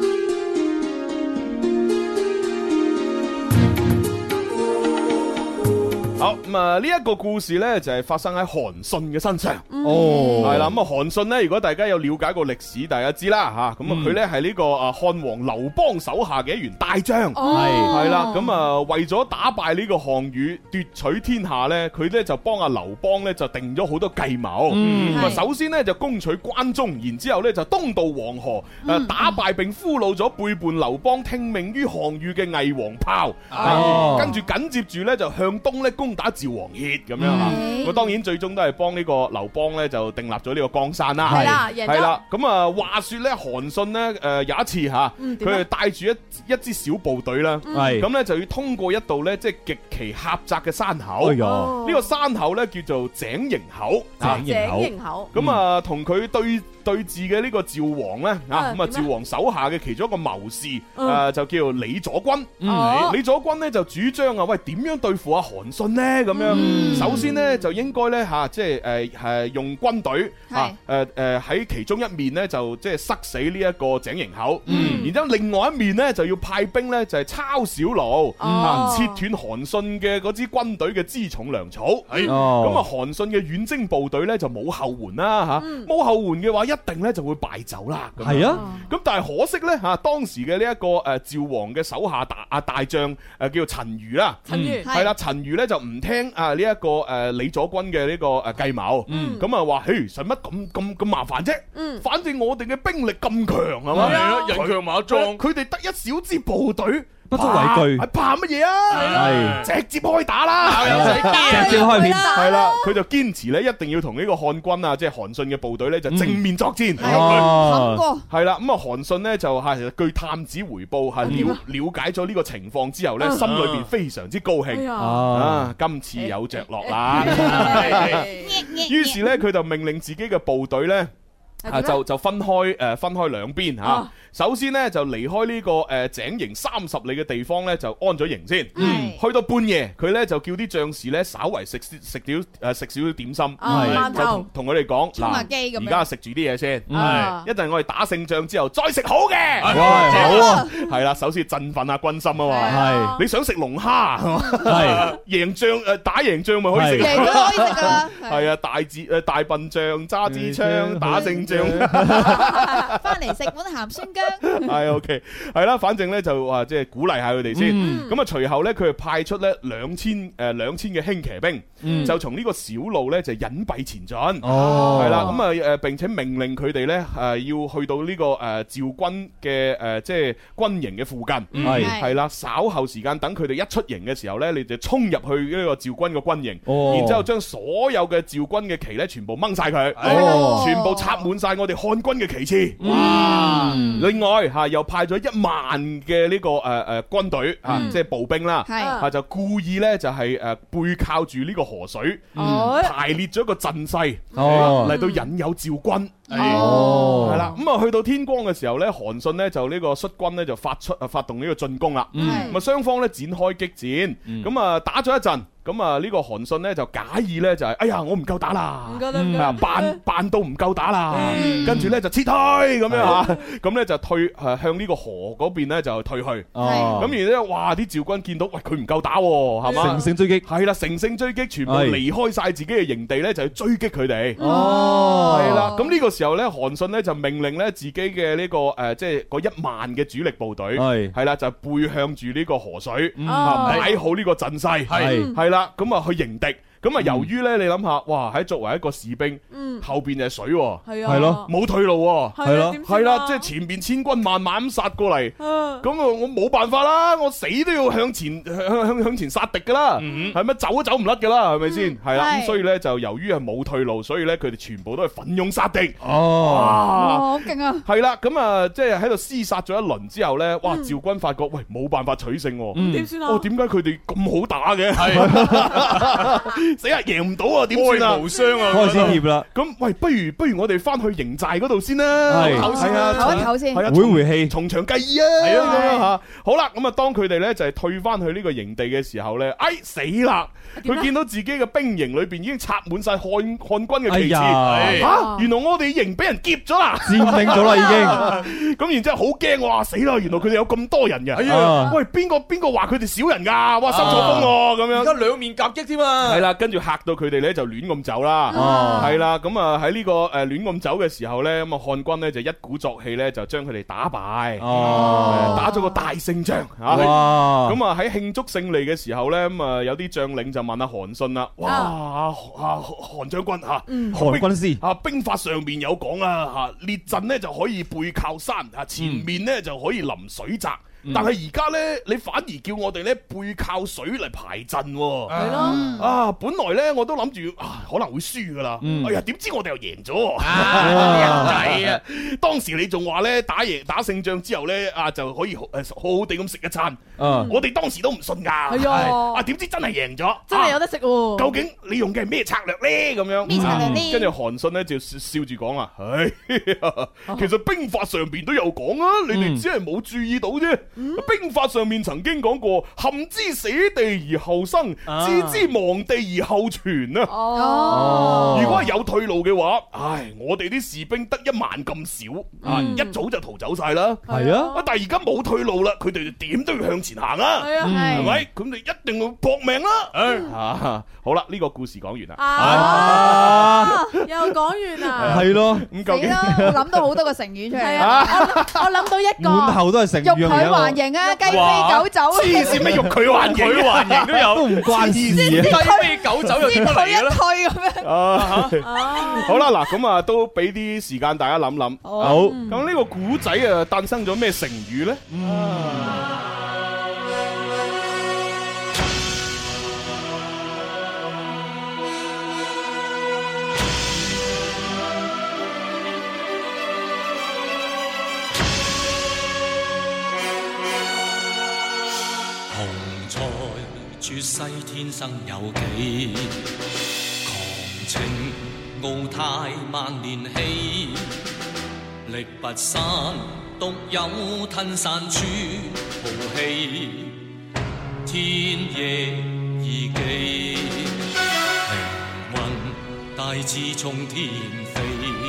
好咁啊！呢一個故事咧就係發生喺韓信嘅身上。 哦， 係啦。咁啊，韓信咧，如果大家有了解過歷史，大家知啦吓。咁啊，佢咧係呢個啊漢王劉邦手下嘅一員大將。係係啦。咁啊，為咗打敗呢個項羽，奪取天下咧，佢咧就幫阿劉邦咧就定咗好多計謀。咁啊，首先咧就攻取關中，然之後咧就東渡黃河，誒打敗並俘虜咗背叛劉邦、聽命於項羽嘅魏王豹。哦，跟住緊接住咧就向東咧攻打趙王歇咁樣啊，咁當然最終都係幫呢個劉邦咧就訂立咗呢個江山啦。 係啦，贏咗。 係啦，咁啊話說咧，韓信咧誒有一次吓，佢係帶住一一支小部隊啦，咁咧就要通過一道咧即係極其狹窄嘅山口。呢個山口咧叫做井營口。 井營口。 咁啊同佢對對峙嘅呢個趙王咧啊，咁啊趙王手下嘅其中一個謀士誒就叫李左軍。李左軍咧就主張啊，喂點樣對付阿韓信呢？咁樣，嗯、首先咧就應該咧吓，即係誒誒用軍隊啊誒誒喺其中一面咧就即係塞死呢一個井營口，嗯、然之後另外一面咧就要派兵咧就係抄小路，哦、啊切斷韓信嘅嗰支軍隊嘅輜重糧草。係咁啊，韓信嘅遠征部隊咧就冇後援啦吓，冇、啊、後援嘅話一定咧就會敗走啦。係啊，咁但係可惜咧吓，當時嘅呢一個誒趙王嘅手下大啊大將誒叫做陳馀啦，陳馀係啦，陳馀咧就唔聽啊呢一個誒李左軍嘅呢個誒計謀，咁啊話，嘿，使乜咁咁咁麻煩啫？反正我哋嘅兵力咁強係嘛， 人強馬壯， 佢哋得一小支部隊， 不足為懼， 係怕乜嘢啊？係直接開打啦， 直接開片， 係啦，佢就堅持咧，一定要同呢個漢軍啊，即係韓信嘅部隊咧，就正面作戰。 哦， 係啦，咁啊，韓信咧就係據探子回報，係了了解咗呢個情況之後咧，心裏邊非常之高興啊！今次有着落啦。於是咧，佢就命令自己嘅部隊咧。 啊就就分開誒分開兩邊嚇。首先咧就離開呢個誒井營三十里嘅地方咧就安咗營先。嗯，去到半夜佢咧就叫啲將士咧稍為食食少誒食少少點心，係就同同佢哋講嗱，而家食住啲嘢先，係一陣我哋打勝仗之後再食好嘅。 哇，好啊， 係啦，首先振奮下軍心啊嘛。 係你想食龍蝦係贏仗誒打贏仗咪可以食， 贏都可以食噶啦。 係啊，大支誒大笨象揸支槍打勝仗， 翻嚟食碗鹹酸薑。 係 OK， 係啦，反正咧就話即係鼓勵下佢哋先。咁啊，隨後咧佢就派出咧兩千誒兩千嘅輕騎兵，就從呢個小路咧就隱蔽前進。哦，係啦，咁啊誒，並且命令佢哋咧誒要去到呢個誒趙軍嘅誒即係軍營嘅附近。係係啦，稍後時間等佢哋一出營嘅時候咧，你就衝入去呢個趙軍嘅軍營，然之後將所有嘅趙軍嘅旗咧全部掹晒佢，全部插滿晒我哋漢軍嘅旗幟。哇！另外吓又派咗一萬嘅呢個誒誒軍隊吓，即係步兵啦，吓就故意咧就係誒背靠住呢個河水，排列咗一個陣勢嚟到引誘趙軍。哦，係啦，咁啊去到天光嘅時候咧，韓信咧就呢個率軍咧就發出啊發動呢個進攻啦。咁啊雙方咧展開激戰，咁啊打咗一陣。咁啊呢個韓信咧就假意咧就係哎呀我唔夠打啦，係啊扮扮到唔夠打啦，跟住咧就撤退咁樣吓，咁咧就退誒向呢個河嗰邊咧就退去。咁而咧哇啲趙軍見到喂佢唔夠打係嘛，乘勝追擊係啦，乘勝追擊，全部離開晒自己嘅營地咧就去追擊佢哋。哦，係啦，咁呢個時候咧韓信咧就命令咧自己嘅呢個誒即係嗰一萬嘅主力部隊係係啦就背向住呢個河水，擺好呢個陣勢係係。啦，咁啊去迎敵。咁啊，由於咧，你諗下，哇！喺作為一個士兵，後邊就係水，係咯，冇退路，係咯，係啦，即係前邊千軍萬馬咁殺過嚟，咁啊，我冇辦法啦，我死都要向前向向向前殺敵噶啦，係咪走都走唔甩噶啦，係咪先？係啦，咁所以咧就由於係冇退路，所以咧佢哋全部都係奮勇殺敵。哦，哇，好勁啊！係啦，咁啊，即係喺度廝殺咗一輪之後咧，哇！趙軍發覺喂冇辦法取勝，點算啊？哦，點解佢哋咁好打嘅？係。死啊！贏唔到啊！點算啊？無傷啊！開始怯啦。咁喂，不如不如我哋翻去營寨嗰度先啦。係係啊，唞一唞先。係啊，回回氣，從長計議啊。係啊，咁樣吓。好啦，咁啊，當佢哋咧就係退翻去呢個營地嘅時候咧，哎死啦！佢見到自己嘅兵營裏邊已經插滿晒漢漢軍嘅旗幟。吓，原來我哋營俾人劫咗啦，佔領咗啦已經。咁然之後好驚，哇死啦！原來佢哋有咁多人嘅。係啊。喂，邊個邊個話佢哋少人噶？哇，收錯風喎，咁樣。而家兩面夾擊添啊。係啦。跟住嚇到佢哋咧就亂咁走啦，係啦，咁啊喺呢個誒亂咁走嘅時候咧，咁啊漢軍咧就一鼓作氣咧就將佢哋打敗，打咗個大勝仗啊！咁啊喺慶祝勝利嘅時候咧，咁啊有啲將領就問阿韓信啦，哇啊韓將軍吓，韓軍師啊兵法上邊有講啊吓，列陣咧就可以背靠山啊，前面咧就可以臨水澤。但係而家咧，你反而叫我哋咧背靠水嚟排陣，係咯啊！本來咧我都諗住啊可能會輸噶啦，哎呀點知我哋又贏咗，人仔啊！當時你仲話咧打贏打勝仗之後咧啊就可以誒好好地咁食一餐，我哋當時都唔信噶，係啊！啊點知真係贏咗，真係有得食喎！究竟你用嘅係咩策略咧？咁樣咩策略咧？跟住韓信咧就笑住講啊，唉，其實兵法上邊都有講啊，你哋只係冇注意到啫。兵法上面曾經講過，陷之死地而後生，置之亡地而後存啊！哦，如果係有退路嘅話，唉，我哋啲士兵得一萬咁少，啊，一早就逃走晒啦。係啊，但係而家冇退路啦，佢哋點都要向前行啊！係啊，係咪？咁你一定要搏命啦！啊，好啦，呢個故事講完啦。啊， 又講完啦。 係咯， 咁究竟我諗到好多個成語出嚟啊！ 我諗到一個， 滿頭都係成語。 欲拒還迎啊，雞飛狗走。 黐線咩？欲拒還迎，拒還迎都有，都唔關事。雞飛狗走又點嚟嘅咧？退咁樣。啊，好啦，嗱，咁啊，都俾啲時間大家諗諗。好，咁呢個古仔啊，誕生咗咩成語咧？ 絕世天生有幾，狂情傲態萬年氣， 力不散，獨有吞散處豪氣，天夜已記，靈魂大志衝天飛，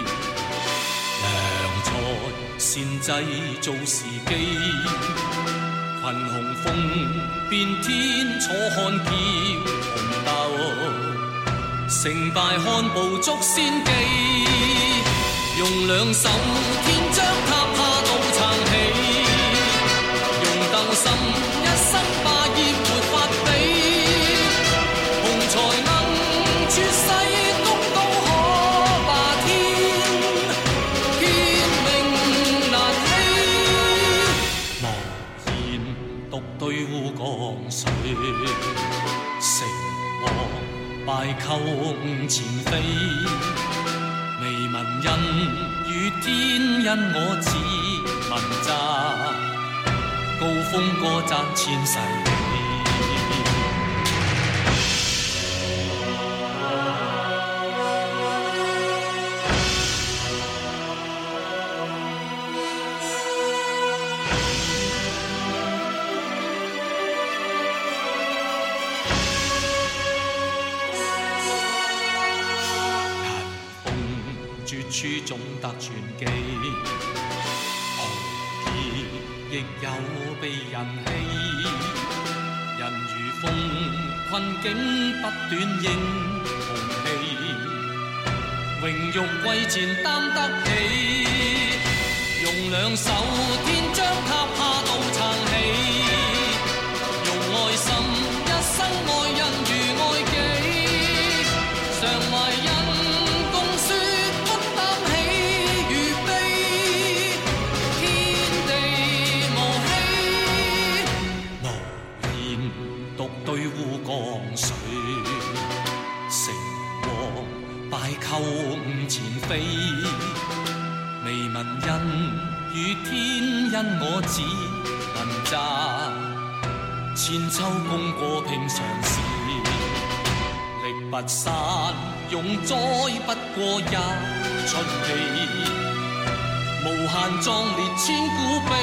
良才善製造時機，群雄風變天楚漢叫紅鬥，成敗看步足先機，用兩手天將塔下渡撐起，用鬥心一生霸業沒法比，雄才能絕世功高可霸天，天命難欺，無言獨對烏江水，成王敗寇五前飛，未聞恩與天因我自問責，高峰歌讚千世紀。處總得傳記，豪傑亦有被人欺，人如風困境不斷英雄氣，榮辱貴賤擔得起，用兩手天將塔下渡撐起，用愛心一生愛人如愛己，常懷恩共説對烏江水，成王敗寇五前飛，未聞恩與天因我自問責，千秋功過平常事，力不散用災不過一出氣，無限壯烈千古悲。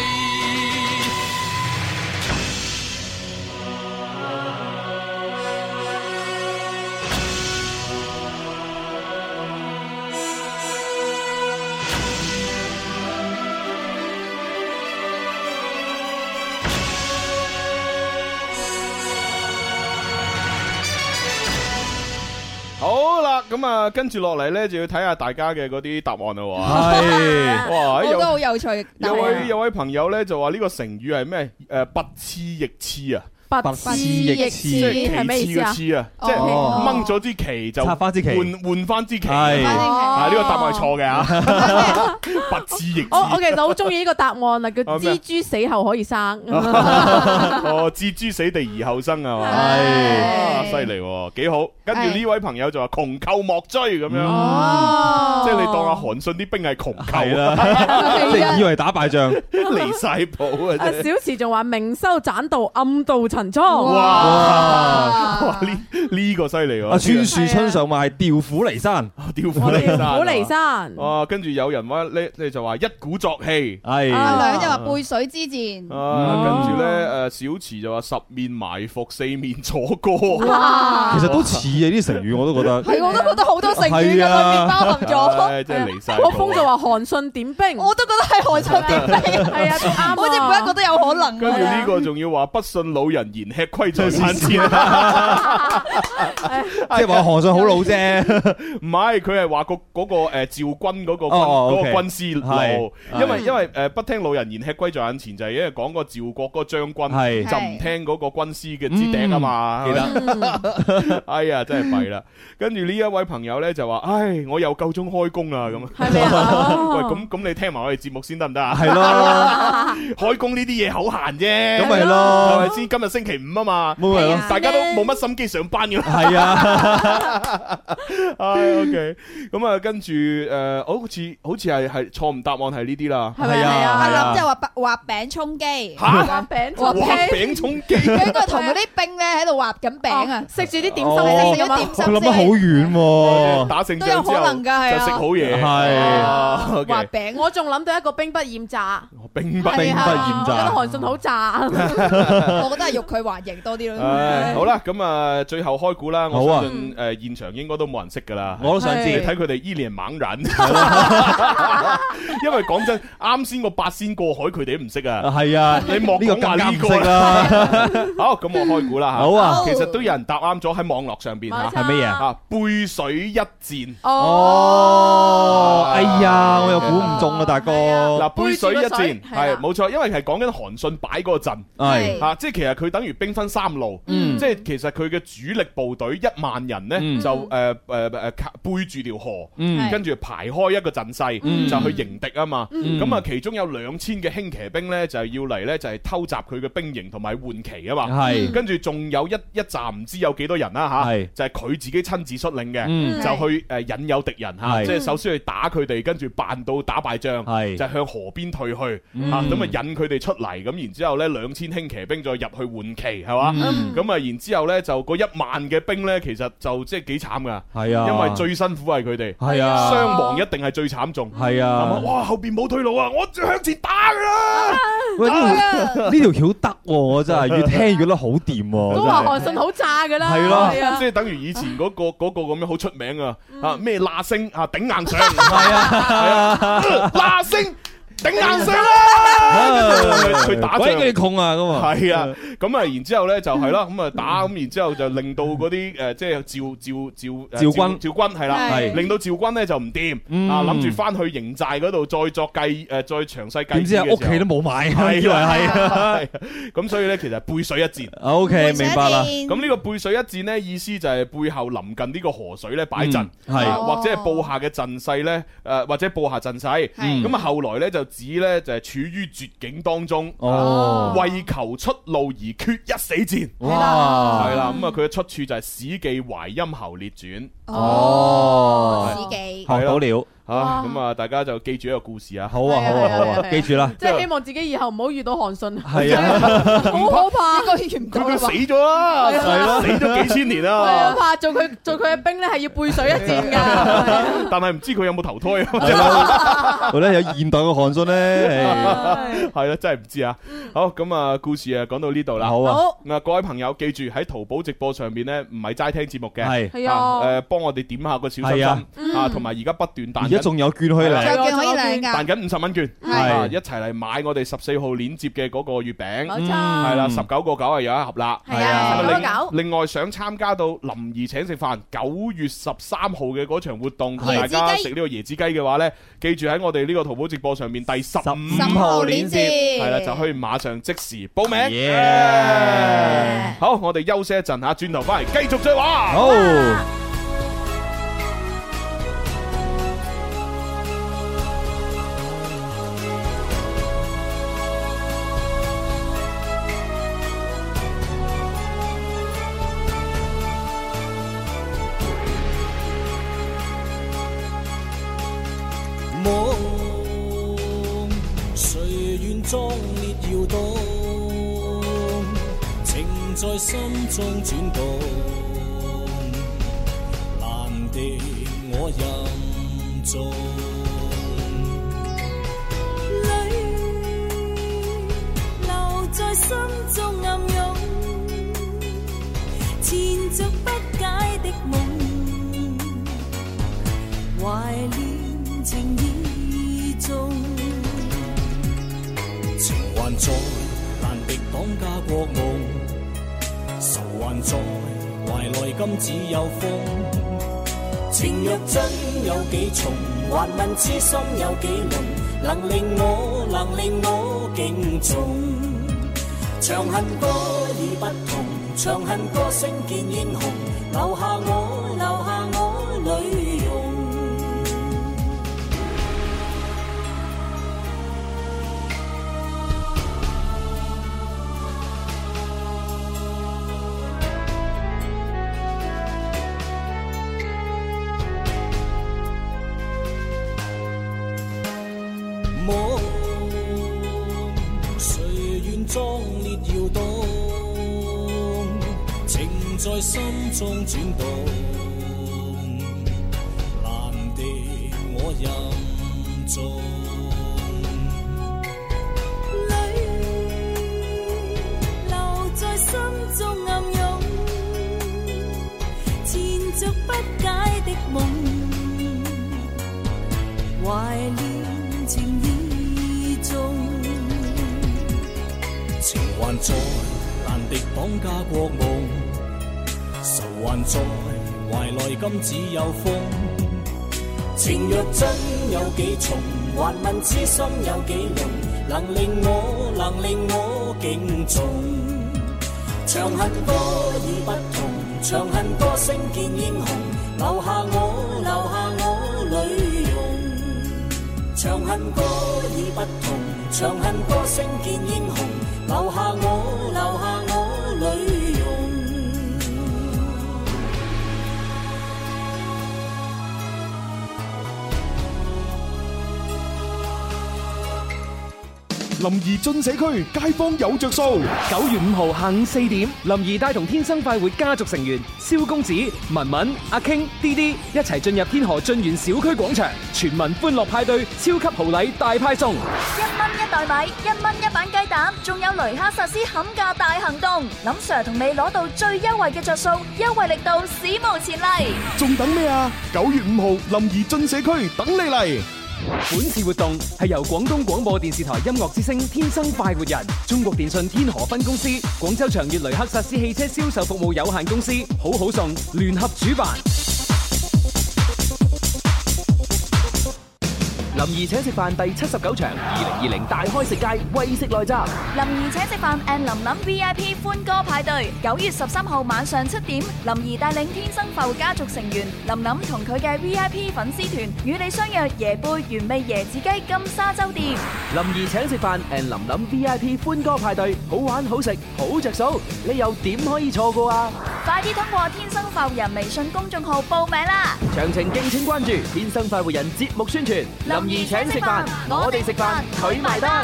好啦，咁啊，跟住落嚟咧，就要睇下大家嘅嗰啲答案啦。 係， 哇， 好多好有趣。 有位有位朋友咧就話呢個成語係咩？誒，不刺亦刺啊！ 不刺亦刺係咩意思啊？ 即係掹咗支旗就插翻支旗， 換換翻支旗。 係啊，呢個答案係錯嘅啊！不刺亦刺。 我我其實好中意呢個答案啊，叫蜘蛛死後可以生。 哦，置諸死地而後生係嘛？係，犀利喎，幾好。跟住呢位朋友就話窮寇莫追咁樣，即係你當阿韓信啲兵係窮寇啦，你以為打敗仗離晒譜啊！ 小池仲話明修棧道，暗度陳倉。 哇！哇！呢呢個犀利喎！ 阿川樹春上話係調虎離山， 調虎離山， 調虎離山。 哇！跟住有人話咧，你就話一鼓作氣， 係阿兩就話背水之戰。 啊，跟住咧誒，小池就話十面埋伏，四面楚歌。 哇！ 其實都似啊啲成語，我都覺得係，我都覺得好多成語嘅裏面包含咗。 真係離晒。 我風就話韓信點兵， 我都覺得係韓信點兵，係啊，啱，好似每一個都有可能。 跟住呢個仲要話不信老人言，吃虧在眼前。 即係話韓信好老啫， 唔係，佢係話個嗰個誒趙軍嗰個軍嗰個軍師路，因為因為誒不聽老人言，吃虧在眼前，就係因為講個趙國嗰個將軍就唔聽嗰個軍師嘅指點啊嘛。記得，哎呀，真係弊啦。跟住呢一位朋友咧就話：唉，我又夠鐘開工啦咁。 係咪啊？ 喂，咁咁你聽埋我哋節目先得唔得啊？ 係咯， 開工呢啲嘢好閒啫， 咁咪咯， 係咪先？今日星期五啊嘛，大家都冇乜心機上班嘅。 係啊。 唉 OK， 咁啊跟住誒，好似好似係係錯誤答案係呢啲啦。 係啊，阿林即係話畫餅充飢。 嚇！ 畫餅畫餅充飢。 佢應該同嗰啲兵咧喺度畫緊餅啊， 食住啲點心， 食咗點心。 佢諗得好遠喎。 打勝仗都有可能㗎，係啊。 就食好嘢。 係。 畫餅， 我仲諗到一個兵不厭詐。 兵不兵不厭詐。 覺得韓信好詐。 我覺得係欲拒還迎多啲咯。 誒好啦，咁啊最後開估啦， 好啊我相信誒現場應該都冇人識㗎啦。 我都想知， 睇佢哋依臉茫然。因為講真，啱先個八仙過海佢哋都唔識啊。係啊， 你莫講話呢個啦。好，咁我開估啦嚇。 好啊， 其實都有人答啱咗喺網絡上邊嚇。 係乜嘢啊？ 背水一戰。 哦，哎呀，我又估唔中啦，大哥。 嗱，背水一戰係冇錯，因為係講緊韓信擺嗰個陣。 係嚇，即係其實佢等於兵分三路。 嗯。 即係其實佢嘅主力部隊一萬人咧，就誒誒誒背住條河，跟住排開一個陣勢，就去迎敵啊嘛。咁啊，其中有兩千嘅輕騎兵咧，就係要嚟咧，就係偷襲佢嘅兵營同埋換旗啊嘛。係。跟住仲有一一紮唔知有幾多人啦嚇，就係佢自己親自率領嘅，就去誒引誘敵人嚇，即係首先去打佢哋，跟住扮到打敗仗，就向河邊退去嚇，咁啊引佢哋出嚟，咁然之後咧兩千輕騎兵再入去換旗係嘛，咁啊然之後咧就嗰一萬嘅兵咧，其實就即係幾慘噶，係啊，因為最辛苦係佢哋，係啊，傷亡一定係最慘重，係啊，哇後邊冇退路啊，我向前打噶啦， 喂呢條橋得喎，我真係越聽越覺得好掂喎， 都話韓信好炸噶啦， 係咯，即係等於以前嗰個嗰個咁樣好出名啊，啊咩喇星啊頂硬上，係啊係啊，喇星。頂硬上啦！佢打仗， 鬼佢窮啊咁啊！ 係啊，咁啊，然之後咧就係啦，咁啊打，咁然之後就令到嗰啲誒，即係趙趙趙趙軍， 趙軍係啦，係令到趙軍咧就唔掂啊，諗住翻去營寨嗰度再作計誒，再詳細計。點知啊，屋企都冇買，以為係，咁所以咧其實背水一戰。O K，明白啦。咁呢個背水一戰咧，意思就係背後臨近呢個河水咧擺陣，係或者係布下嘅陣勢咧，誒或者布下陣勢。咁啊後來咧就。指咧就係處於絕境當中，哦，為求出路而決一死戰，哇，係啦，咁啊佢嘅出處就係《史記淮陰侯列傳》， 哦，史記學到了。 啊，咁啊，大家就記住一個故事啊！ 好啊，好啊，好啊，記住啦！ 即係希望自己以後唔好遇到韓信。 係啊， 好可怕！應該遇唔到。 佢死咗啦，係咯，死咗幾千年啦。 係啊，怕做佢做佢嘅兵咧，係要背水一戰㗎。 但係唔知佢有冇投胎啊？ 或者有現代嘅韓信咧？ 係啦，真係唔知啊！好，咁啊，故事啊講到呢度啦。 好啊。 咁啊，各位朋友記住喺淘寶直播上邊咧，唔係齋聽節目嘅， 係係啊， 誒幫我哋點下個小心心啊，同埋而家不斷彈。 仲有券可以領， 仲有券可以領㗎， 彈緊五十蚊券，係一齊嚟買我哋十四號鏈接嘅嗰個月餅， 冇錯， 係啦，十九個九係有一盒啦， 係啊，十九個九。 另外想參加到林兒請食飯九月十三號嘅嗰場活動，同大家食呢個椰子雞嘅話咧，記住喺我哋呢個淘寶直播上面第十五號鏈接，係啦，就可以馬上即時報名。好，我哋休息一陣嚇，轉頭翻嚟繼續再玩。 好。 壯烈搖動，情在心中轉動，難敵我任重。淚留在心中暗湧，纏着不解的夢，懷念情意重。情還在，難敵擋家國夢；愁還在，懷內今只有風。情若真有幾重，還問痴心有幾濃，能令我能令我敬重。長恨歌已不同，長恨歌聲見英雄，留下我留下我淚容。 在心中轉動，難敵我任重。 在心中暗湧，纏着不解的夢，懷念情意重， 情還在難敵綁架國夢，仇還在懷內今只有風，情若真有幾重，還問痴心有幾濃，能令我能令我敬重。長恨歌已不同，長恨歌聲見英雄，留下我留下我淚容。長恨歌已不同，長恨歌聲見英雄，留下我留下我淚容。 林兒進社區，街坊有着數。九月五號下午四點，林兒帶同天生快活家族成員蕭公子、文文、阿 King、D D 一齊進入天河駿園小區廣場，全民歡樂派對，超級豪禮大派送， 一蚊一袋米，一蚊一板雞蛋，仲有雷克薩斯砍價大行動，林 Sir 同你攞到最優惠嘅着數，優惠力度史無前例。 仲等咩啊？九月五號，林兒進社區等你嚟。本次活動係由廣東廣播電視台音樂之聲天生快活人、中國電信天河分公司、廣州長悅雷克薩斯汽車銷售服務有限公司好好送聯合主辦。林兒請食飯第七十九場二零二零大開食街為食來襲。 林兒請食飯 and 林林 V I P 歡歌派對，九月十三號晚上七點，林兒帶領天生快活家族成員林林同佢嘅 V I P 粉絲團與你相約椰貝原味椰子雞金沙洲店。 林兒請食飯 and 林林 V I P 歡歌派對，好玩好食好着數，你又點可以錯過啊？ 快啲通過天生快活人微信公眾號報名啦！ 詳情敬請關注天生快活人節目宣傳。林兒請食飯，我哋食飯，佢埋單。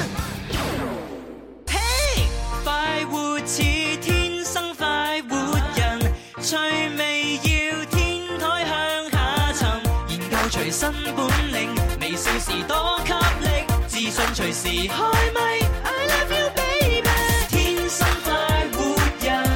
嘿，快活似天生快活人，趣味要天台向下沉，研究隨身本領，微笑時多給力，自信隨時開咪。I love you baby， 天生快活人。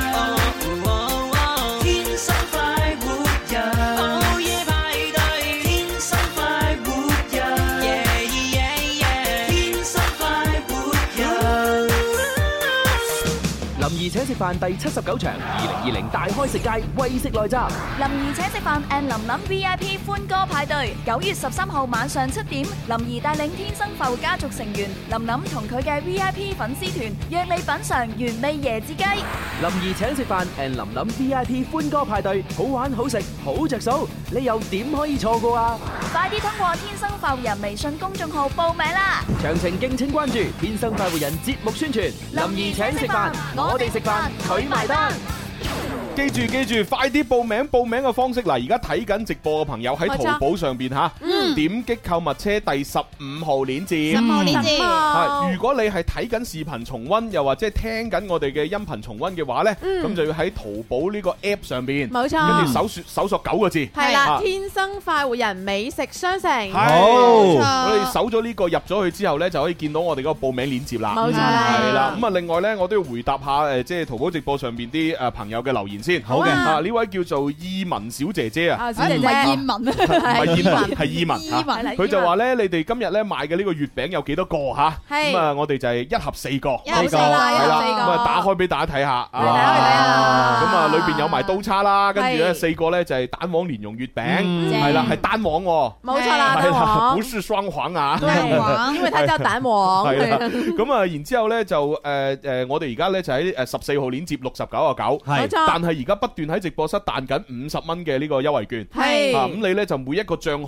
林兒請食飯第七十九場二零二零大開食街為食來襲。 林兒請食飯 and 林林 V I P 歡歌派對，九月十三號晚上七點，林兒帶領天生快活家族成員林林同佢嘅 V I P 粉絲團約你品嘗原味椰子雞。 林兒請食飯 and 林林 V I P 歡歌派對，好玩好食好着數，你又點可以錯過啊？ 快啲通過天生快活人微信公眾號報名啦！ 詳情敬請關注天生快活人節目宣傳。林兒請食飯，我哋食飯，佢埋單。記住記住，快啲報名！報名嘅方式嗱，而家睇緊直播嘅朋友喺淘寶上邊吓，點擊購物車第十五號鏈接。 十五號鏈接。 係，如果你係睇緊視頻重溫，又或者係聽緊我哋嘅音頻重溫嘅話咧，咁就要喺淘寶呢個 app 上邊， 冇錯， 跟住搜索搜索九個字， 係啦，天生快活人美食商城。 好，我哋搜咗呢個入咗去之後咧，就可以見到我哋嗰個報名鏈接啦。 冇錯， 係啦。咁啊，另外咧，我都要回答下誒，即係淘寶直播上邊啲誒朋友嘅留言先。好嘅，啊呢位叫做意文小姐姐啊， 唔係燕文啊， 唔係燕文，係意文。 意文， 佢就話咧，你哋今日咧賣嘅呢個月餅有幾多個吓？咁啊，我哋就係一盒四個， 一盒四個，係啦， 咁啊打開俾大家睇下。 嚟睇下，嚟睇下。 咁啊，裏邊有埋刀叉啦，跟住咧四個咧就係蛋黃蓮蓉月餅，係啦，係單黃。 冇錯啦， 單黃，不是雙黃啊。 雙黃，因為它叫蛋黃。 係啦，咁啊，然之後咧就誒誒，我哋而家咧就喺誒十四號鏈接六十九個九，係，但係而家不斷喺直播室彈緊五十蚊嘅呢個優惠券，係啊，咁你咧就每一個賬號能夠搶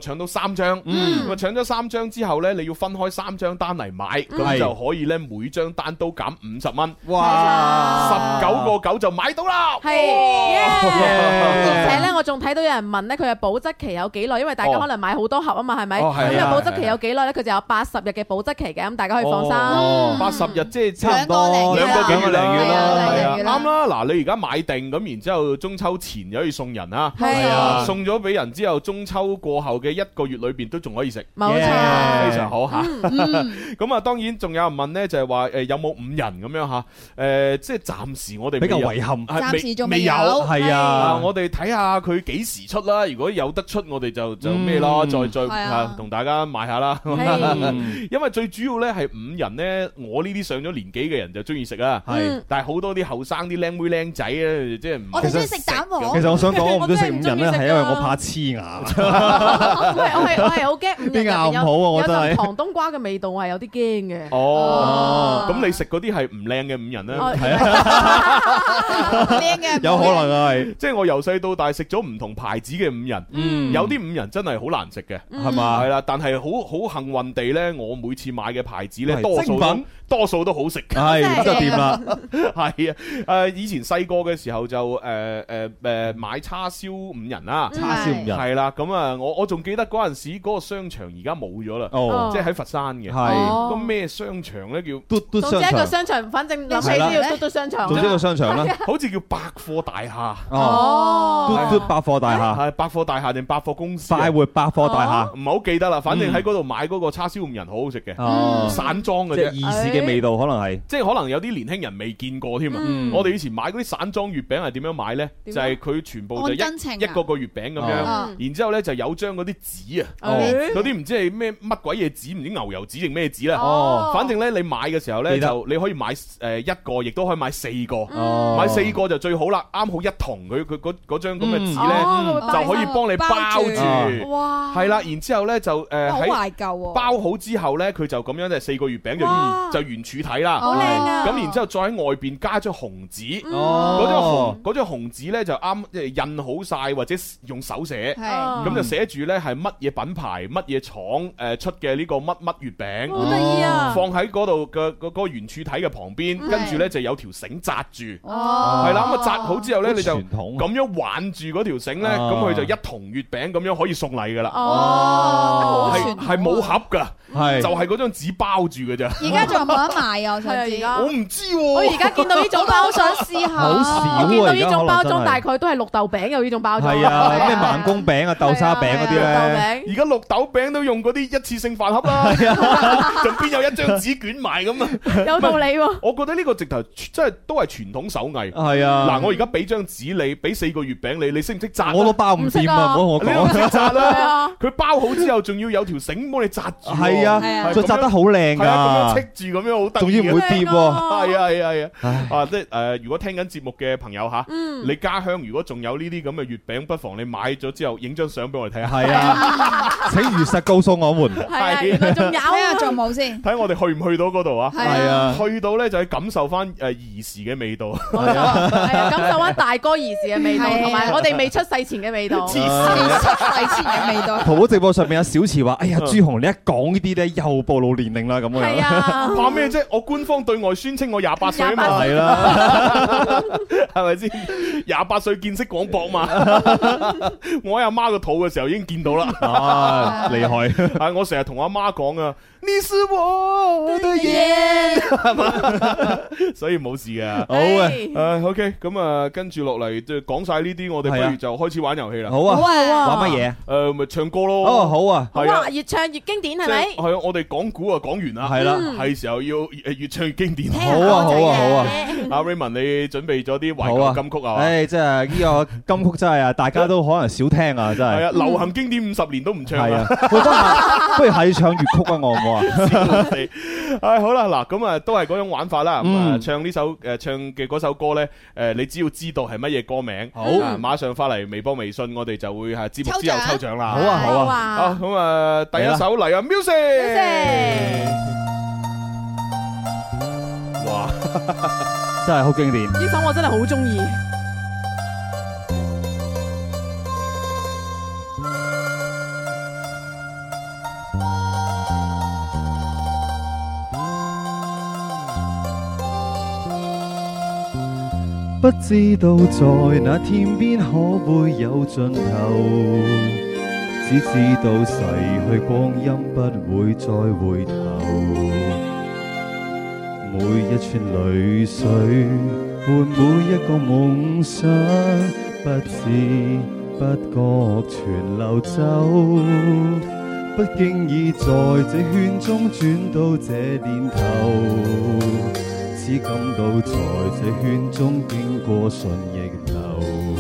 搶到三張，咁啊搶咗三張之後咧，你要分開三張單嚟買，咁就可以咧每張單都減五十蚊。哇！十九個九就買到啦。 係，而且咧我仲睇到有人問咧，佢嘅保質期有幾耐？因為大家可能買好多盒啊嘛，係咪？咁個保質期有幾耐咧？佢就有八十日嘅保質期嘅，咁大家可以放心。 八十日即係差唔多兩個幾月零月啦，係啊，啱啦。嗱，你而家買定咁，然之後中秋前就可以送人啊，係啊，送咗俾人之後，中秋過後嘅一個月裏邊都仲可以食， 冇錯， 非常好嚇。咁啊，當然仲有人問咧，就係話誒有冇五人咁樣嚇？誒，即係暫時我哋比較遺憾， 暫時仲未有， 係啊， 我哋睇下佢幾時出啦。如果有得出，我哋就就咩咯，再再嚇同大家買下啦。因為最主要咧係五人咧，我呢啲上咗年紀嘅人就中意食啊。係，但係好多啲後生啲靚妹靚仔咧，即係唔我哋中意食蛋黃。 其實我想講，我唔中意食五仁咧，係因為我怕黐牙。 我係我係我係好驚五仁啲牙唔好啊！我真係有陣糖冬瓜嘅味道，我係有啲驚嘅。 哦，咁你食嗰啲係唔靚嘅五仁咧？ 係啊， 靚嘅有可能啊，係。 即係我由細到大食咗唔同牌子嘅五仁，有啲五仁真係好難食嘅， 係嘛？ 係啦，但係好好幸運地咧，我每次買嘅牌子咧，多數都多數都好食。 係咁就掂啦。 係啊，誒以前細個嘅時候就誒誒誒買叉燒五仁啦， 叉燒五仁係啦。咁啊，我我仲記得嗰陣時嗰個商場而家冇咗啦，即係喺佛山嘅。係咁咩商場咧？叫嘟嘟商場。 總之一個商場，反正諗起都要嘟嘟商場。 總之一個商場啦， 好似叫百貨大廈。 哦，嘟嘟百貨大廈係百貨大廈定百貨公司？ 快活百貨大廈， 唔係好記得啦。反正喺嗰度買嗰個叉燒五仁好好食嘅，散裝嘅啫， 即係兒時嘅味道可能係， 即係可能有啲年輕人未見過添啊。我哋以前買嗰啲散裝月餅係點樣買咧？就係佢全部就一一個個月餅咁樣，然之後咧就有張嗰啲紙啊，嗰啲唔知係咩乜鬼嘢紙，唔知牛油紙定咩紙啦。哦，反正咧你買嘅時候咧就你可以買誒一個，亦都可以買四個，買四個就最好啦，啱好一筒佢佢嗰嗰張咁嘅紙咧就可以幫你包住。哇！係啦，然之後咧就誒好懷舊喎。 包好之後咧，佢就咁樣即係四個月餅就圓就圓柱體啦。 好靚啊！ 咁然之後再喺外邊加張紅紙，嗰張紅嗰張紅紙咧就啱即係印好晒或者用手寫，咁就寫住咧係乜嘢品牌乜嘢廠誒出嘅呢個乜乜月餅， 好得意啊！ 放喺嗰度嘅嗰個圓柱體嘅旁邊，跟住咧就有條繩紮住，係啦，咁啊紮好之後咧你就咁樣挽住嗰條繩咧，咁佢就一筒月餅咁樣可以送禮噶啦。哦，係係冇盒噶，係就係嗰張紙包住嘅咋。 而家仲有冇得賣啊？我想知。 我唔知喎。 我而家見到呢種包，想試下。 好少啊！ 我見到呢種包裝大概都係綠豆餅有呢種包裝。 係啊，咩盲公餅啊、豆沙餅嗰啲咧。 而家綠豆餅都用嗰啲一次性飯盒啦，仲邊有一張紙捲埋咁啊？ 有道理喎。 我覺得呢個直頭真係都係傳統手藝。 係啊。 嗱，我而家俾張紙你，俾四個月餅你，你識唔識紮？ 我都包唔掂啊！唔好同我講。 你都識紮啦。佢包好之後，仲要有條繩幫你紮住。 係啊，就紮得好靚㗎。 係啊，咁樣戚住咁樣好得意。 仲要唔會跌喎。 係啊係啊係啊。啊，即係誒，如果聽緊節目嘅朋友嚇，你家鄉如果仲有呢啲咁嘅月餅，不妨你買咗之後影張相俾我哋睇下。 係啊，請如實告訴我們。 係啊，仲有啊，仲冇先。 睇我哋去唔去到嗰度啊？ 係啊， 去到咧就係感受翻誒兒時嘅味道。 係啊，感受翻大哥兒時嘅味道，同埋我哋未出世前嘅味道。 兒時出世前嘅味道。 淘寶直播上面有小池話：哎呀，朱紅，你一講呢啲咧，又暴露年齡啦咁樣。 係啊， 怕咩啫？我官方對外宣稱我廿八歲啊嘛。 係啦， 係咪先？廿八歲見識廣博嘛。我喺阿媽個肚嘅時候已經見到啦。 啊，厲害！ 係我成日同阿媽講啊，你是我的眼，係嘛？所以冇事嘅。 好嘅， 誒，OK，咁啊，跟住落嚟就講晒呢啲，我哋不如就開始玩遊戲啦。 好啊，玩乜嘢？ 誒，咪唱歌咯。 哦，好啊， 係啊，越唱越經典係咪？ 係啊，我哋講古啊講完啦， 係啦， 係時候要誒越唱越經典。 好啊，好啊，好啊！ 阿 Raymond，你準備咗啲懷舊金曲啊？ 誒，即係呢個金曲真係啊，大家都可能少聽啊，真係。 係啊，流行經典五十年都唔唱啊！ 不如係唱粵曲啊，我好唔好啊？ 唉，好啦，嗱，咁啊，都係嗰種玩法啦。咁啊，唱呢首誒唱嘅嗰首歌咧，誒，你只要知道係乜嘢歌名，好，馬上發嚟微博、微信，我哋就會係節目之後抽獎啦。 好啊，好啊， 好，咁啊，第一首嚟啊 ，music，哇， 真係好經典。 呢首我真係好中意。 不知道在那天邊可會有盡頭，只知道逝去光陰不會再回頭。每一串淚水伴每一個夢想，不知不覺全流走，不經意在這圈中轉到這年頭，只感到在這圈中經過順逆流。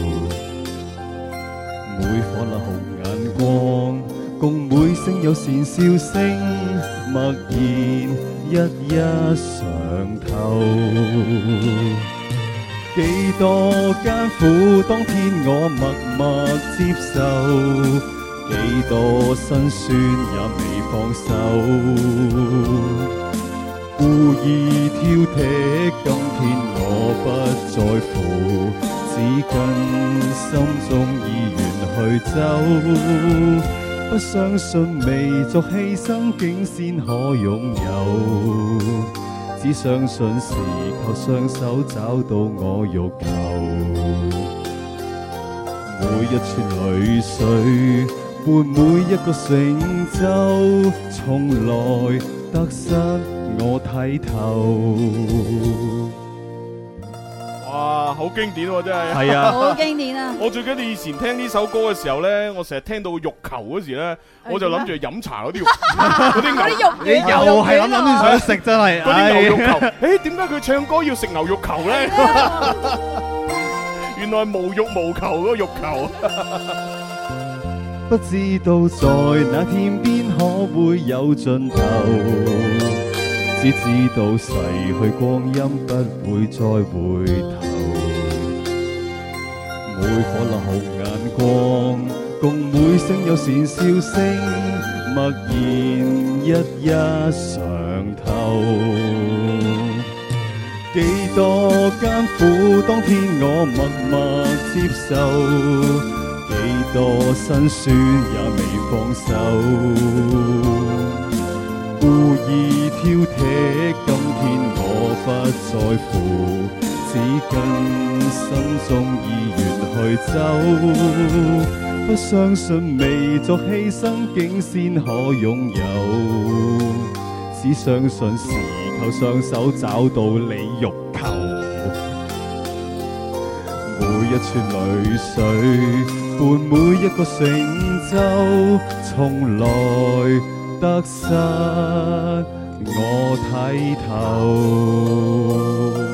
每顆那紅眼光，共每聲有善笑聲，默然一一嘗透。幾多艱苦，當天我默默接受，幾多辛酸也未放手，故意挑剔，今天我不在乎，只跟心中意願去走，不相信微作犧牲竟先可擁有，只相信是靠雙手找到我欲求。每一串淚水伴每一個成就，從來得失我睇透。 哇，好經典喎，真係。 係啊， 好經典啊！ 我最記得以前聽呢首歌嘅時候咧，我成日聽到欲求嗰時咧，我就諗住飲茶嗰啲嗰啲牛肉， 你又係諗諗住想食真係。 嗰啲牛肉球，誒點解佢唱歌要食牛肉球咧？原來無欲無求嗰個欲求。 不知道在那天邊可會有盡頭，只知道逝去光陰不會再回頭。每顆那紅眼光，共每聲有善笑聲，默然一一嘗透。幾多艱苦，當天我默默接受，幾多辛酸也未放手，故意挑剔，今天我不在乎，只跟心中意願去走，不相信微作犧牲竟先可擁有，只相信是靠雙手找到你欲求。每一串淚水伴每一個成就，從來得失我睇透。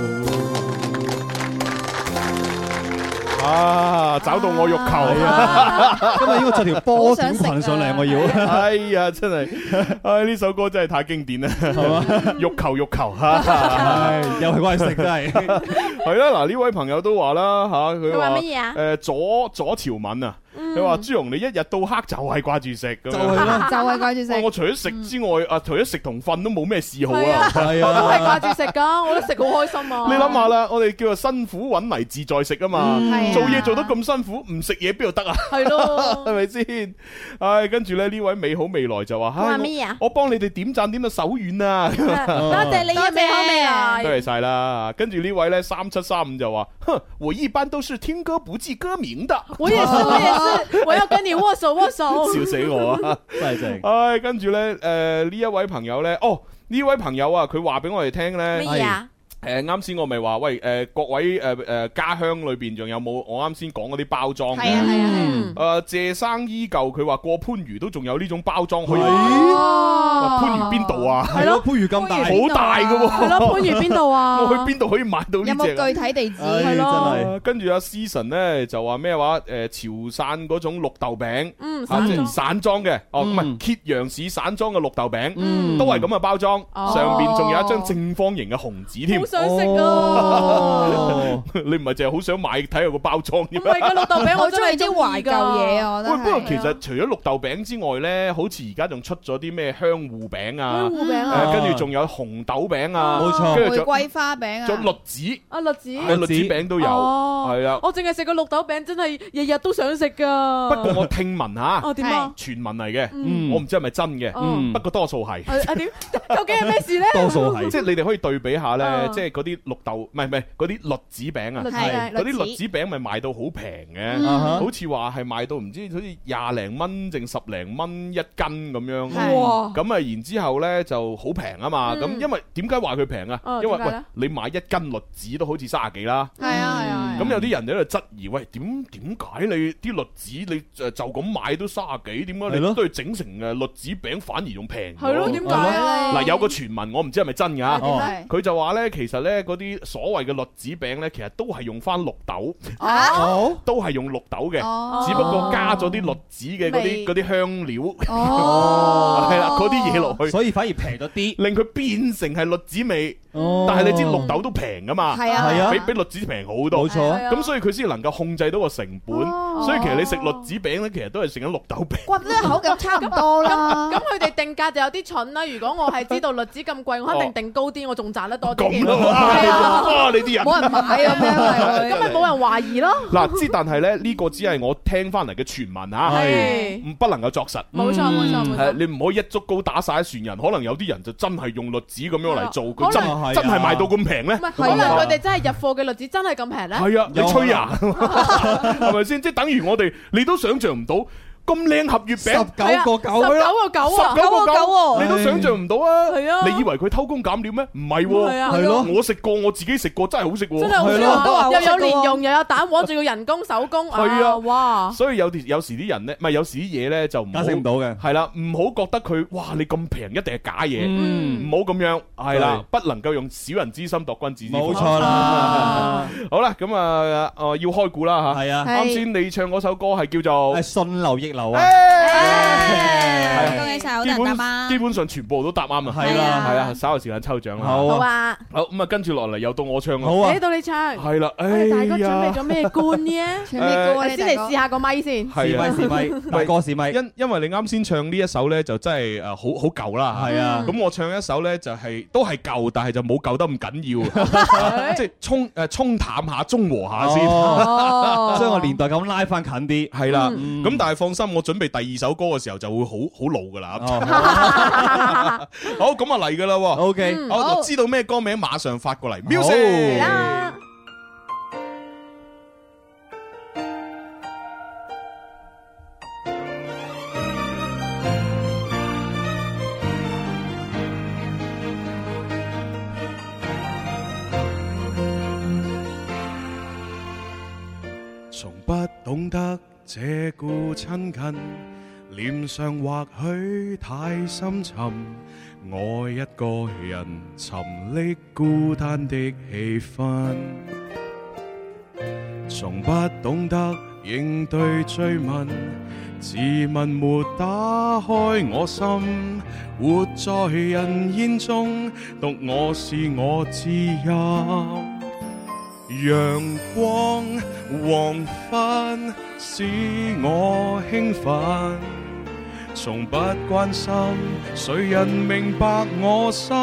啊！找到我欲求啊！ 今日應該着條波短裙上嚟，我要。 哎呀，真係，唉，呢首歌真係太經典啦，係嘛？欲求欲求嚇， 唉，又係關食真係。 係啦，嗱呢位朋友都話啦嚇，佢話乜嘢啊？ 誒左左潮文啊。佢話朱紅，你一日到黑就係掛住食，就係啦，就係掛住食。 我除咗食之外，啊，除咗食同瞓都冇咩嗜好啊。 係啊，我都係掛住食噶，我都食好開心啊。 你諗下啦，我哋叫做辛苦揾嚟自在食啊嘛，做嘢做得咁辛苦，唔食嘢邊度得啊？係咯，係咪先？唉，跟住咧呢位美好未來就話： 話咩啊？ 我幫你哋點讚點到手軟啊！ 多謝你嘅美好未來， 多謝晒啦。跟住呢位咧三七三五就話：哼，我一般都是聽歌不記歌名的。 我也是，我也是，我要跟你握手握手。 笑死我啊！ 真係正。 唉，跟住咧，誒呢一位朋友咧，哦呢位朋友啊，佢話俾我哋聽咧。 乜嘢啊？ 誒啱先我咪話喂誒各位誒誒家鄉裏邊仲有冇我啱先講嗰啲包裝嘅？ 係啊係啊。 誒謝生依舊佢話過番禺都仲有呢種包裝可以。 哦。 番禺邊度啊？ 係咯， 番禺咁大， 好大㗎喎。 係咯，番禺邊度啊？ 我去邊度可以買到呢隻？ 有冇具體地址？ 係咯。 跟住阿思晨咧就話咩話？誒潮汕嗰種綠豆餅， 嗯， 啊即係散裝嘅，哦唔係揭陽市散裝嘅綠豆餅，都係咁嘅包裝，上邊仲有一張正方形嘅紅紙添。 好想食啊！ 你唔係淨係好想買睇下個包裝嘅咩？ 唔係個綠豆餅，我中意啲懷舊嘢啊！我覺得。 喂，不過其實除咗綠豆餅之外咧，好似而家仲出咗啲咩香芋餅啊， 香芋餅啊， 跟住仲有紅豆餅啊， 冇錯， 跟住玫瑰花餅啊， 仲栗子， 啊栗子， 栗子餅都有，係啊。 我淨係食個綠豆餅，真係日日都想食噶。 不過我聽聞吓， 哦點啊？ 傳聞嚟嘅，我唔知係咪真嘅，不過多數係。 啊點？究竟係咩事咧？ 多數係， 即係你哋可以對比下咧， 即係嗰啲綠豆，唔係唔係嗰啲栗子餅啊，嗰啲栗子餅咪賣到好平嘅，好似話係賣到唔知好似廿零蚊定十零蚊一斤咁樣。咁啊，然之後咧就好平啊嘛。咁因為點解話佢平啊？因為喂，你買一斤栗子都好似卅幾啦。係啊係啊。咁有啲人喺度質疑，喂，點點解你啲栗子你就就咁買都卅幾？點解你都要整成誒栗子餅反而仲平？係咯，點解啊？嗱，有個傳聞，我唔知係咪真㗎。佢就話咧，其實咧嗰啲所謂嘅栗子餅咧，其實都係用翻綠豆，都係用綠豆嘅，只不過加咗啲栗子嘅嗰啲嗰啲香料，係啦，嗰啲嘢落去， 所以反而平咗啲， 令佢變成係栗子味。但係你知綠豆都平㗎嘛？係啊，比比栗子平好多。冇錯，咁所以佢先能夠控制到個成本。所以其實你食栗子餅咧，其實都係食緊綠豆餅。 哇，呢口感差唔多啦。 咁佢哋定價就有啲蠢啦。如果我係知道栗子咁貴，我肯定定高啲，我仲賺得多啲。 咁咯，哇！你啲人冇人買咁樣，咁咪冇人懷疑咯。 嗱，之但係咧，呢個只係我聽翻嚟嘅傳聞嚇，係不能夠作實。 冇錯冇錯冇錯。 你唔可以一竹篙打晒一船人，可能有啲人就真係用栗子咁樣嚟做，佢真真係賣到咁平咧？ 可能佢哋真係入貨嘅栗子真係咁平咧？ 係啊，你吹啊，係咪先？即係等於我哋，你都想象唔到。咁靚盒月餅，十九個九， 十九個九啊， 十九個九喎，你都想象唔到啊！ 係啊， 你以為佢偷工減料咩？唔係喎，係咯，我食過，我自己食過，真係好食喎， 真係好食喎，又有蓮蓉，又有蛋黃，仲要人工手工， 係啊， 哇！ 所以有啲有時啲人咧，唔係有時啲嘢咧就唔解釋唔到嘅，係啦，唔好覺得佢哇你咁平一定係假嘢，唔好咁樣，係啦，不能夠用小人之心度君子之腹，冇錯啦。好啦，咁啊，誒要開估啦嚇，係啊，啱先你唱嗰首歌係叫做 《順流逆流》啊。 恭喜晒，好多人答啱， 基本上全部都答啱啊！係啦，係啊，稍後時間抽獎啦。 好啊， 好咁啊，跟住落嚟又到我唱啦。 好啊，到你唱。 係啦，哎呀，大哥準備咗咩冠呢？唱咩歌啊？先嚟試下個咪先。 係啊， 試咪，大哥試咪。 因因為你啱先唱呢一首咧，就真係誒好好舊啦。係啊，咁我唱一首咧就係都係舊，但係就冇舊得咁緊要，即係沖誒沖淡下、中和下先， 將個年代咁拉翻近啲。 係啦，咁但係放心，我準備第二首歌嘅時候就會好好老噶啦。好，咁啊嚟噶啦。OK，我就知道咩歌名，馬上發過嚟。Music。從不懂得這故親近。臉上或許太深沉，我一個人沉溺孤單的氣氛，從不懂得應對追問，自問沒打開我心，活在人煙中，獨我是我知音。陽光黃昏使我興奮，從不關心誰人明白我心，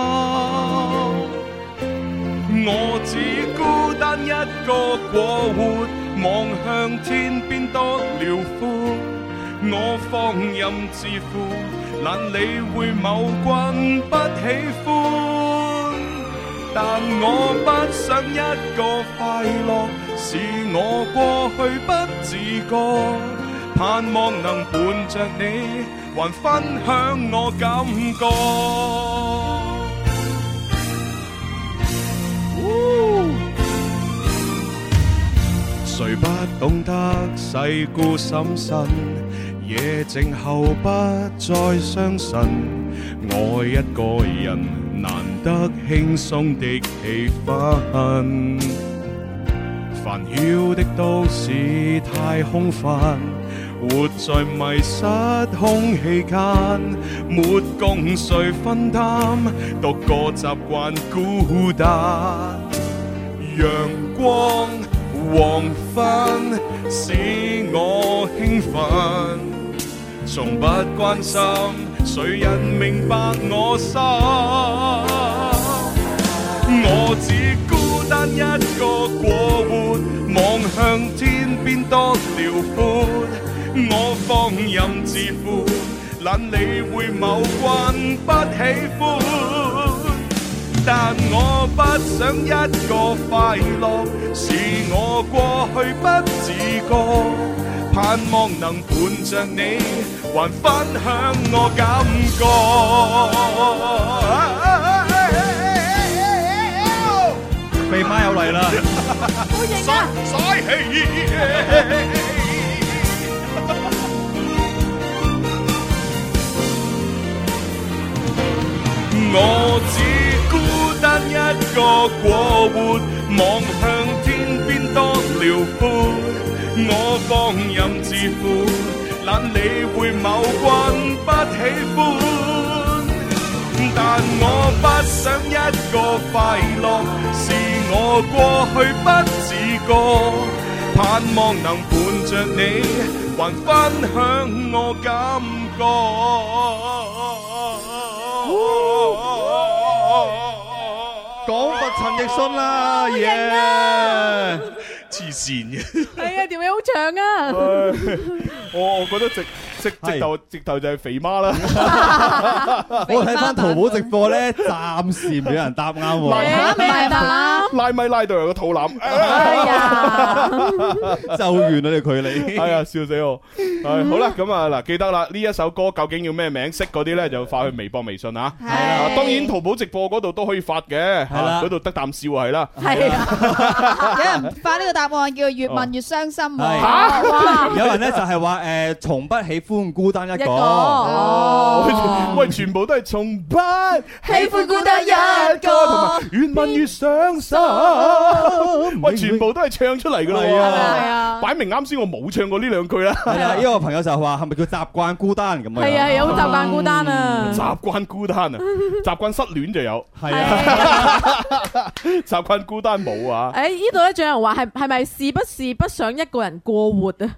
我只孤單一個過活，望向天邊多遼闊，我放任自負，難理會某君不喜歡，但我不想一個快樂是我過去不自覺，盼望能伴着你還分享我感覺，誰不懂得世故審慎，夜靜後不再傷神，愛一個人難得輕鬆的氣氛，煩囂的都市太空泛，活在迷失空氣間，沒共誰分擔，獨個習慣孤單。陽光黃昏使我興奮，從不關心誰人明白我心，我只孤單一個過活，望向天邊多遼闊，我放任自負，懶理會某君不喜歡， 但我不想一個快樂，是我過去不自覺。盼望能伴着你，還分享我感覺。 肥媽又嚟啦！ 好型啊！ 嘥氣。我只孤單一個過活，望向天邊多遼闊。我放任自負，懶理會某君不喜歡，但我不想一個快樂，是我過去不自覺，盼望能伴着你，還分享我感覺。 講佛陳奕迅啦，耶！ 黐線嘅， 係啊，條尾好長啊！ 我我覺得直直直頭直頭就係肥媽啦。 我睇翻淘寶直播咧，暫時唔俾人答啱喎。 唔係答拉咪拉到有個肚腩。 哎呀， 就好遠啊！你距離。 係啊，笑死我。係好啦，咁啊嗱，記得啦，呢一首歌究竟叫咩名？識嗰啲咧就發去微博、微信啊。係啊，當然淘寶直播嗰度都可以發嘅。係啦，嗰度得啖笑係啦。係啊，有人發呢個答案叫越問越傷心喎。 嚇！有人咧就係話誒，從不喜歡孤單一個。 哦，喂，全部都係從不喜歡孤單一個，同埋越問越傷心。喂，全部都係唱出嚟㗎啦。係啊，擺明啱先我冇唱過呢兩句啦。 係啊，呢個朋友就話係咪叫習慣孤單咁樣？ 係啊，有習慣孤單啊。 習慣孤單啊，習慣失戀就有。係啊，習慣孤單冇啊。 誒，呢度咧仲有人話係係咪是不是不想一個人過活啊？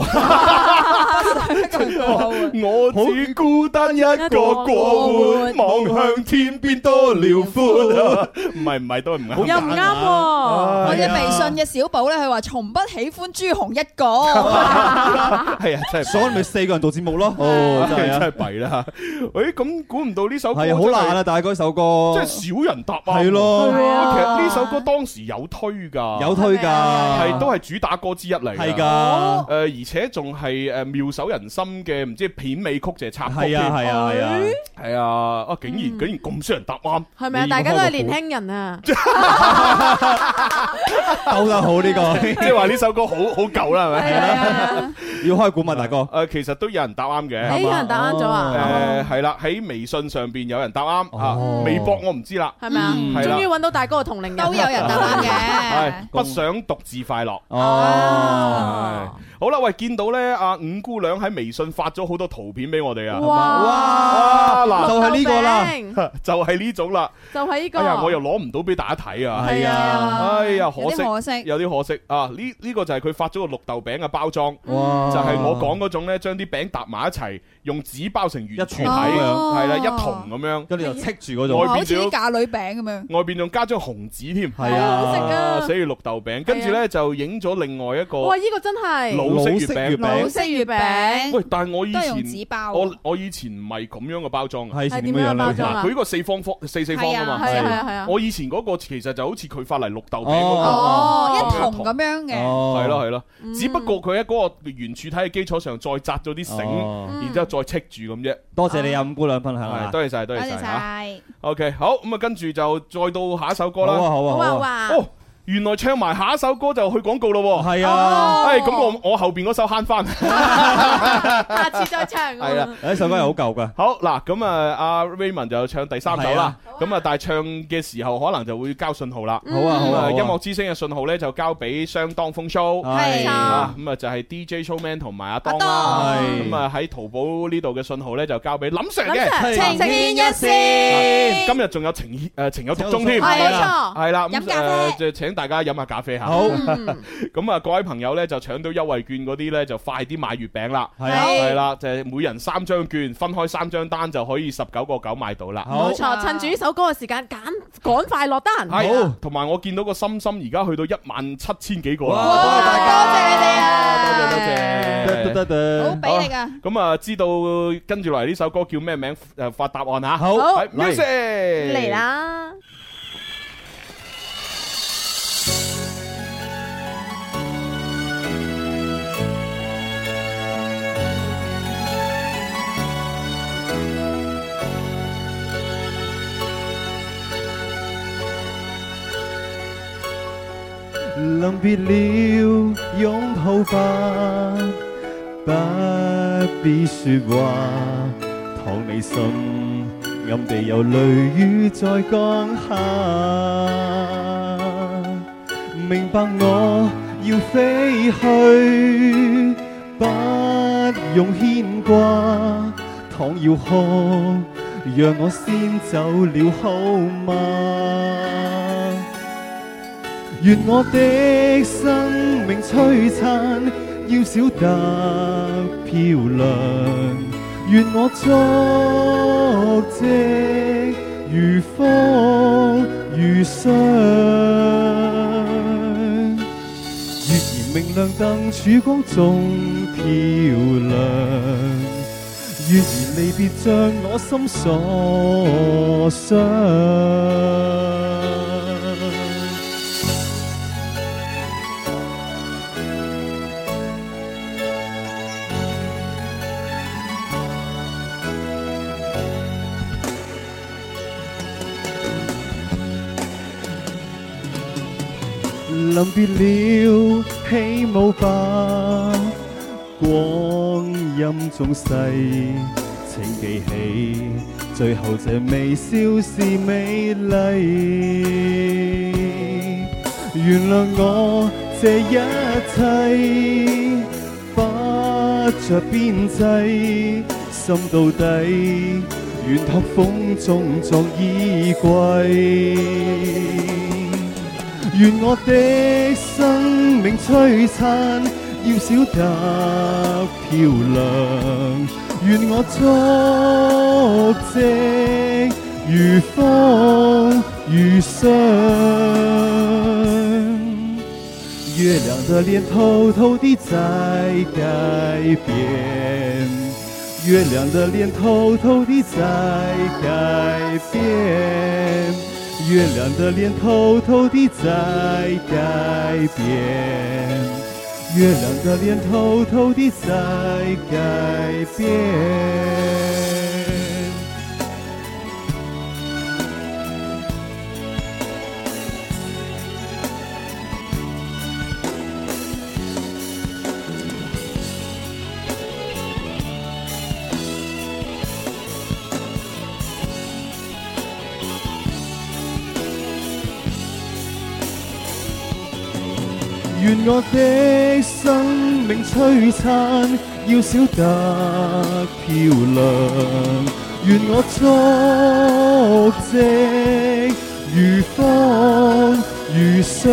我只孤單一個過活，望向天邊多遼闊。唔係唔係都係唔啱， 又唔啱喎。 我哋微信嘅小寶咧，佢話從不喜歡朱紅一個。 係啊，真係， 所以咪四個人做節目咯。哦，真係真係弊啦。誒，咁估唔到呢首歌係好難啊！但係嗰首歌即係少人答啊。 係咯， 其實呢首歌當時有推㗎， 有推㗎， 係都係主打歌之一嚟。 係㗎， 誒。而且仲係誒妙手仁心嘅，唔知片尾曲就係插曲。 係啊係啊係啊， 係啊！啊竟然竟然咁少人答啱， 係咪啊？大家都係年輕人啊， 兜得好呢個， 即係話呢首歌好好舊啦，係咪？ 係啊， 要開估嘛，大哥。 誒，其實都有人答啱嘅。 誒，有人答啱咗啊？ 誒，係啦，喺微信上邊有人答啱啊，微博我唔知啦。 係咪啊？終於揾到大哥嘅同齡人， 都有人答啱嘅。 係不想獨自快樂。 哦， 好啦，喂，見到咧，阿五姑娘喺微信發咗好多圖片俾我哋啊！ 哇， 嗱， 就係呢個啦， 就係呢種啦， 就係呢個。 哎呀，我又攞唔到俾大家睇啊！ 係啊， 哎呀，可惜， 可惜， 有啲可惜啊！呢呢個就係佢發咗個綠豆餅嘅包裝， 哇， 就係我講嗰種咧，將啲餅搭埋一齊，用紙包成圓柱體，係啦，一筒咁樣， 跟住就戚住嗰種， 好似啲嫁女餅咁樣， 外邊仲加張紅紙添， 係啊， 好食啊， 寫住綠豆餅，跟住咧就影咗另外一個， 哇，呢個真係老式月餅。 老式月餅， 喂！但係我以前都係用紙包， 我我以前唔係咁樣嘅包裝啊， 係點樣包裝啊？ 佢呢個四方方四四方啊嘛， 係啊係啊係啊！ 我以前嗰個其實就好似佢發嚟綠豆餅哦，一筒咁樣嘅， 係咯係咯，只不過佢喺嗰個圓柱體嘅基礎上再紮咗啲繩，然之後再戚住咁啫。 多謝你啊，五姑娘分享啊！ 多謝晒，多謝晒嚇。 OK，好咁啊，跟住就再到下一首歌啦。 好啊好啊好啊！ 哦。原來唱埋下一首歌就去廣告咯喎， 係啊， 誒咁我我後邊嗰首慳翻， 下次再唱。 係啦， 呢首歌係好舊噶。 好嗱，咁啊阿 Raymond 就唱第三首啦，咁啊但係唱嘅時候可能就會交信號啦。 好啊好啊， 音樂之聲嘅信號咧就交俾相當風 show， 係啊，咁啊就係 D J Showman 同埋阿當啦，咁啊喺淘寶呢度嘅信號咧就交俾林 Sir 嘅情牽一線， 今日仲有情誒情有獨鐘添， 係冇錯， 係啦， 飲咖啡就請大家飲下咖啡嚇。 好， 咁啊各位朋友咧就搶到優惠券嗰啲咧就快啲買月餅啦， 係係啦，就係每人三張券，分開三張單就可以十九個九買到啦。 冇錯，趁住呢首歌嘅時間，趕趕快落單。 好，同埋我見到個心心而家去到一萬七千幾個啦， 多謝大家，多謝你哋啊， 多謝多謝， 得得得， 好俾你噶。 咁啊，知道跟住落嚟呢首歌叫咩名？誒，發答案吓。 好 ，music 嚟啦。 臨別了，擁抱吧，不必說話。倘你心暗地有淚雨在降下，明白我要飛去，不用牽掛。倘要哭，讓我先走了好嗎？願我的生命璀璨，要小得漂亮。願我足跡如風如霜。月兒明亮燈曙光中漂亮。月兒離別像我心所想。臨別了，起舞吧，光陰縱逝，請記起，最後這微笑是美麗。原諒我這一切，不着邊際，心到底，願託風中作衣歸。願我的生命璀璨，要小得漂亮。願我足跡如風如霜。月亮的臉偷偷地在改變，月亮的臉偷偷地在改變。月亮的臉偷偷地在改變，月亮的臉偷偷地在改變。願我的生命璀璨，要小得漂亮。願我足跡如風如霜。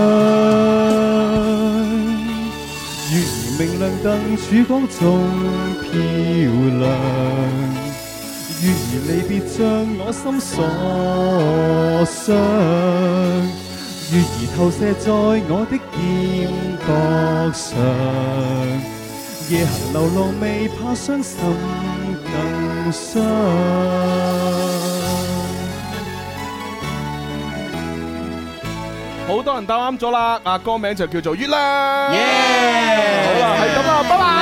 月兒明亮燈曙光中漂亮。月兒離別像我心所想。月兒投射在我的肩膊上，夜行流浪未怕傷心更傷。 好多人答啱咗啦，啊歌名就叫做月亮。 耶！ 好啦，係咁啦，拜拜。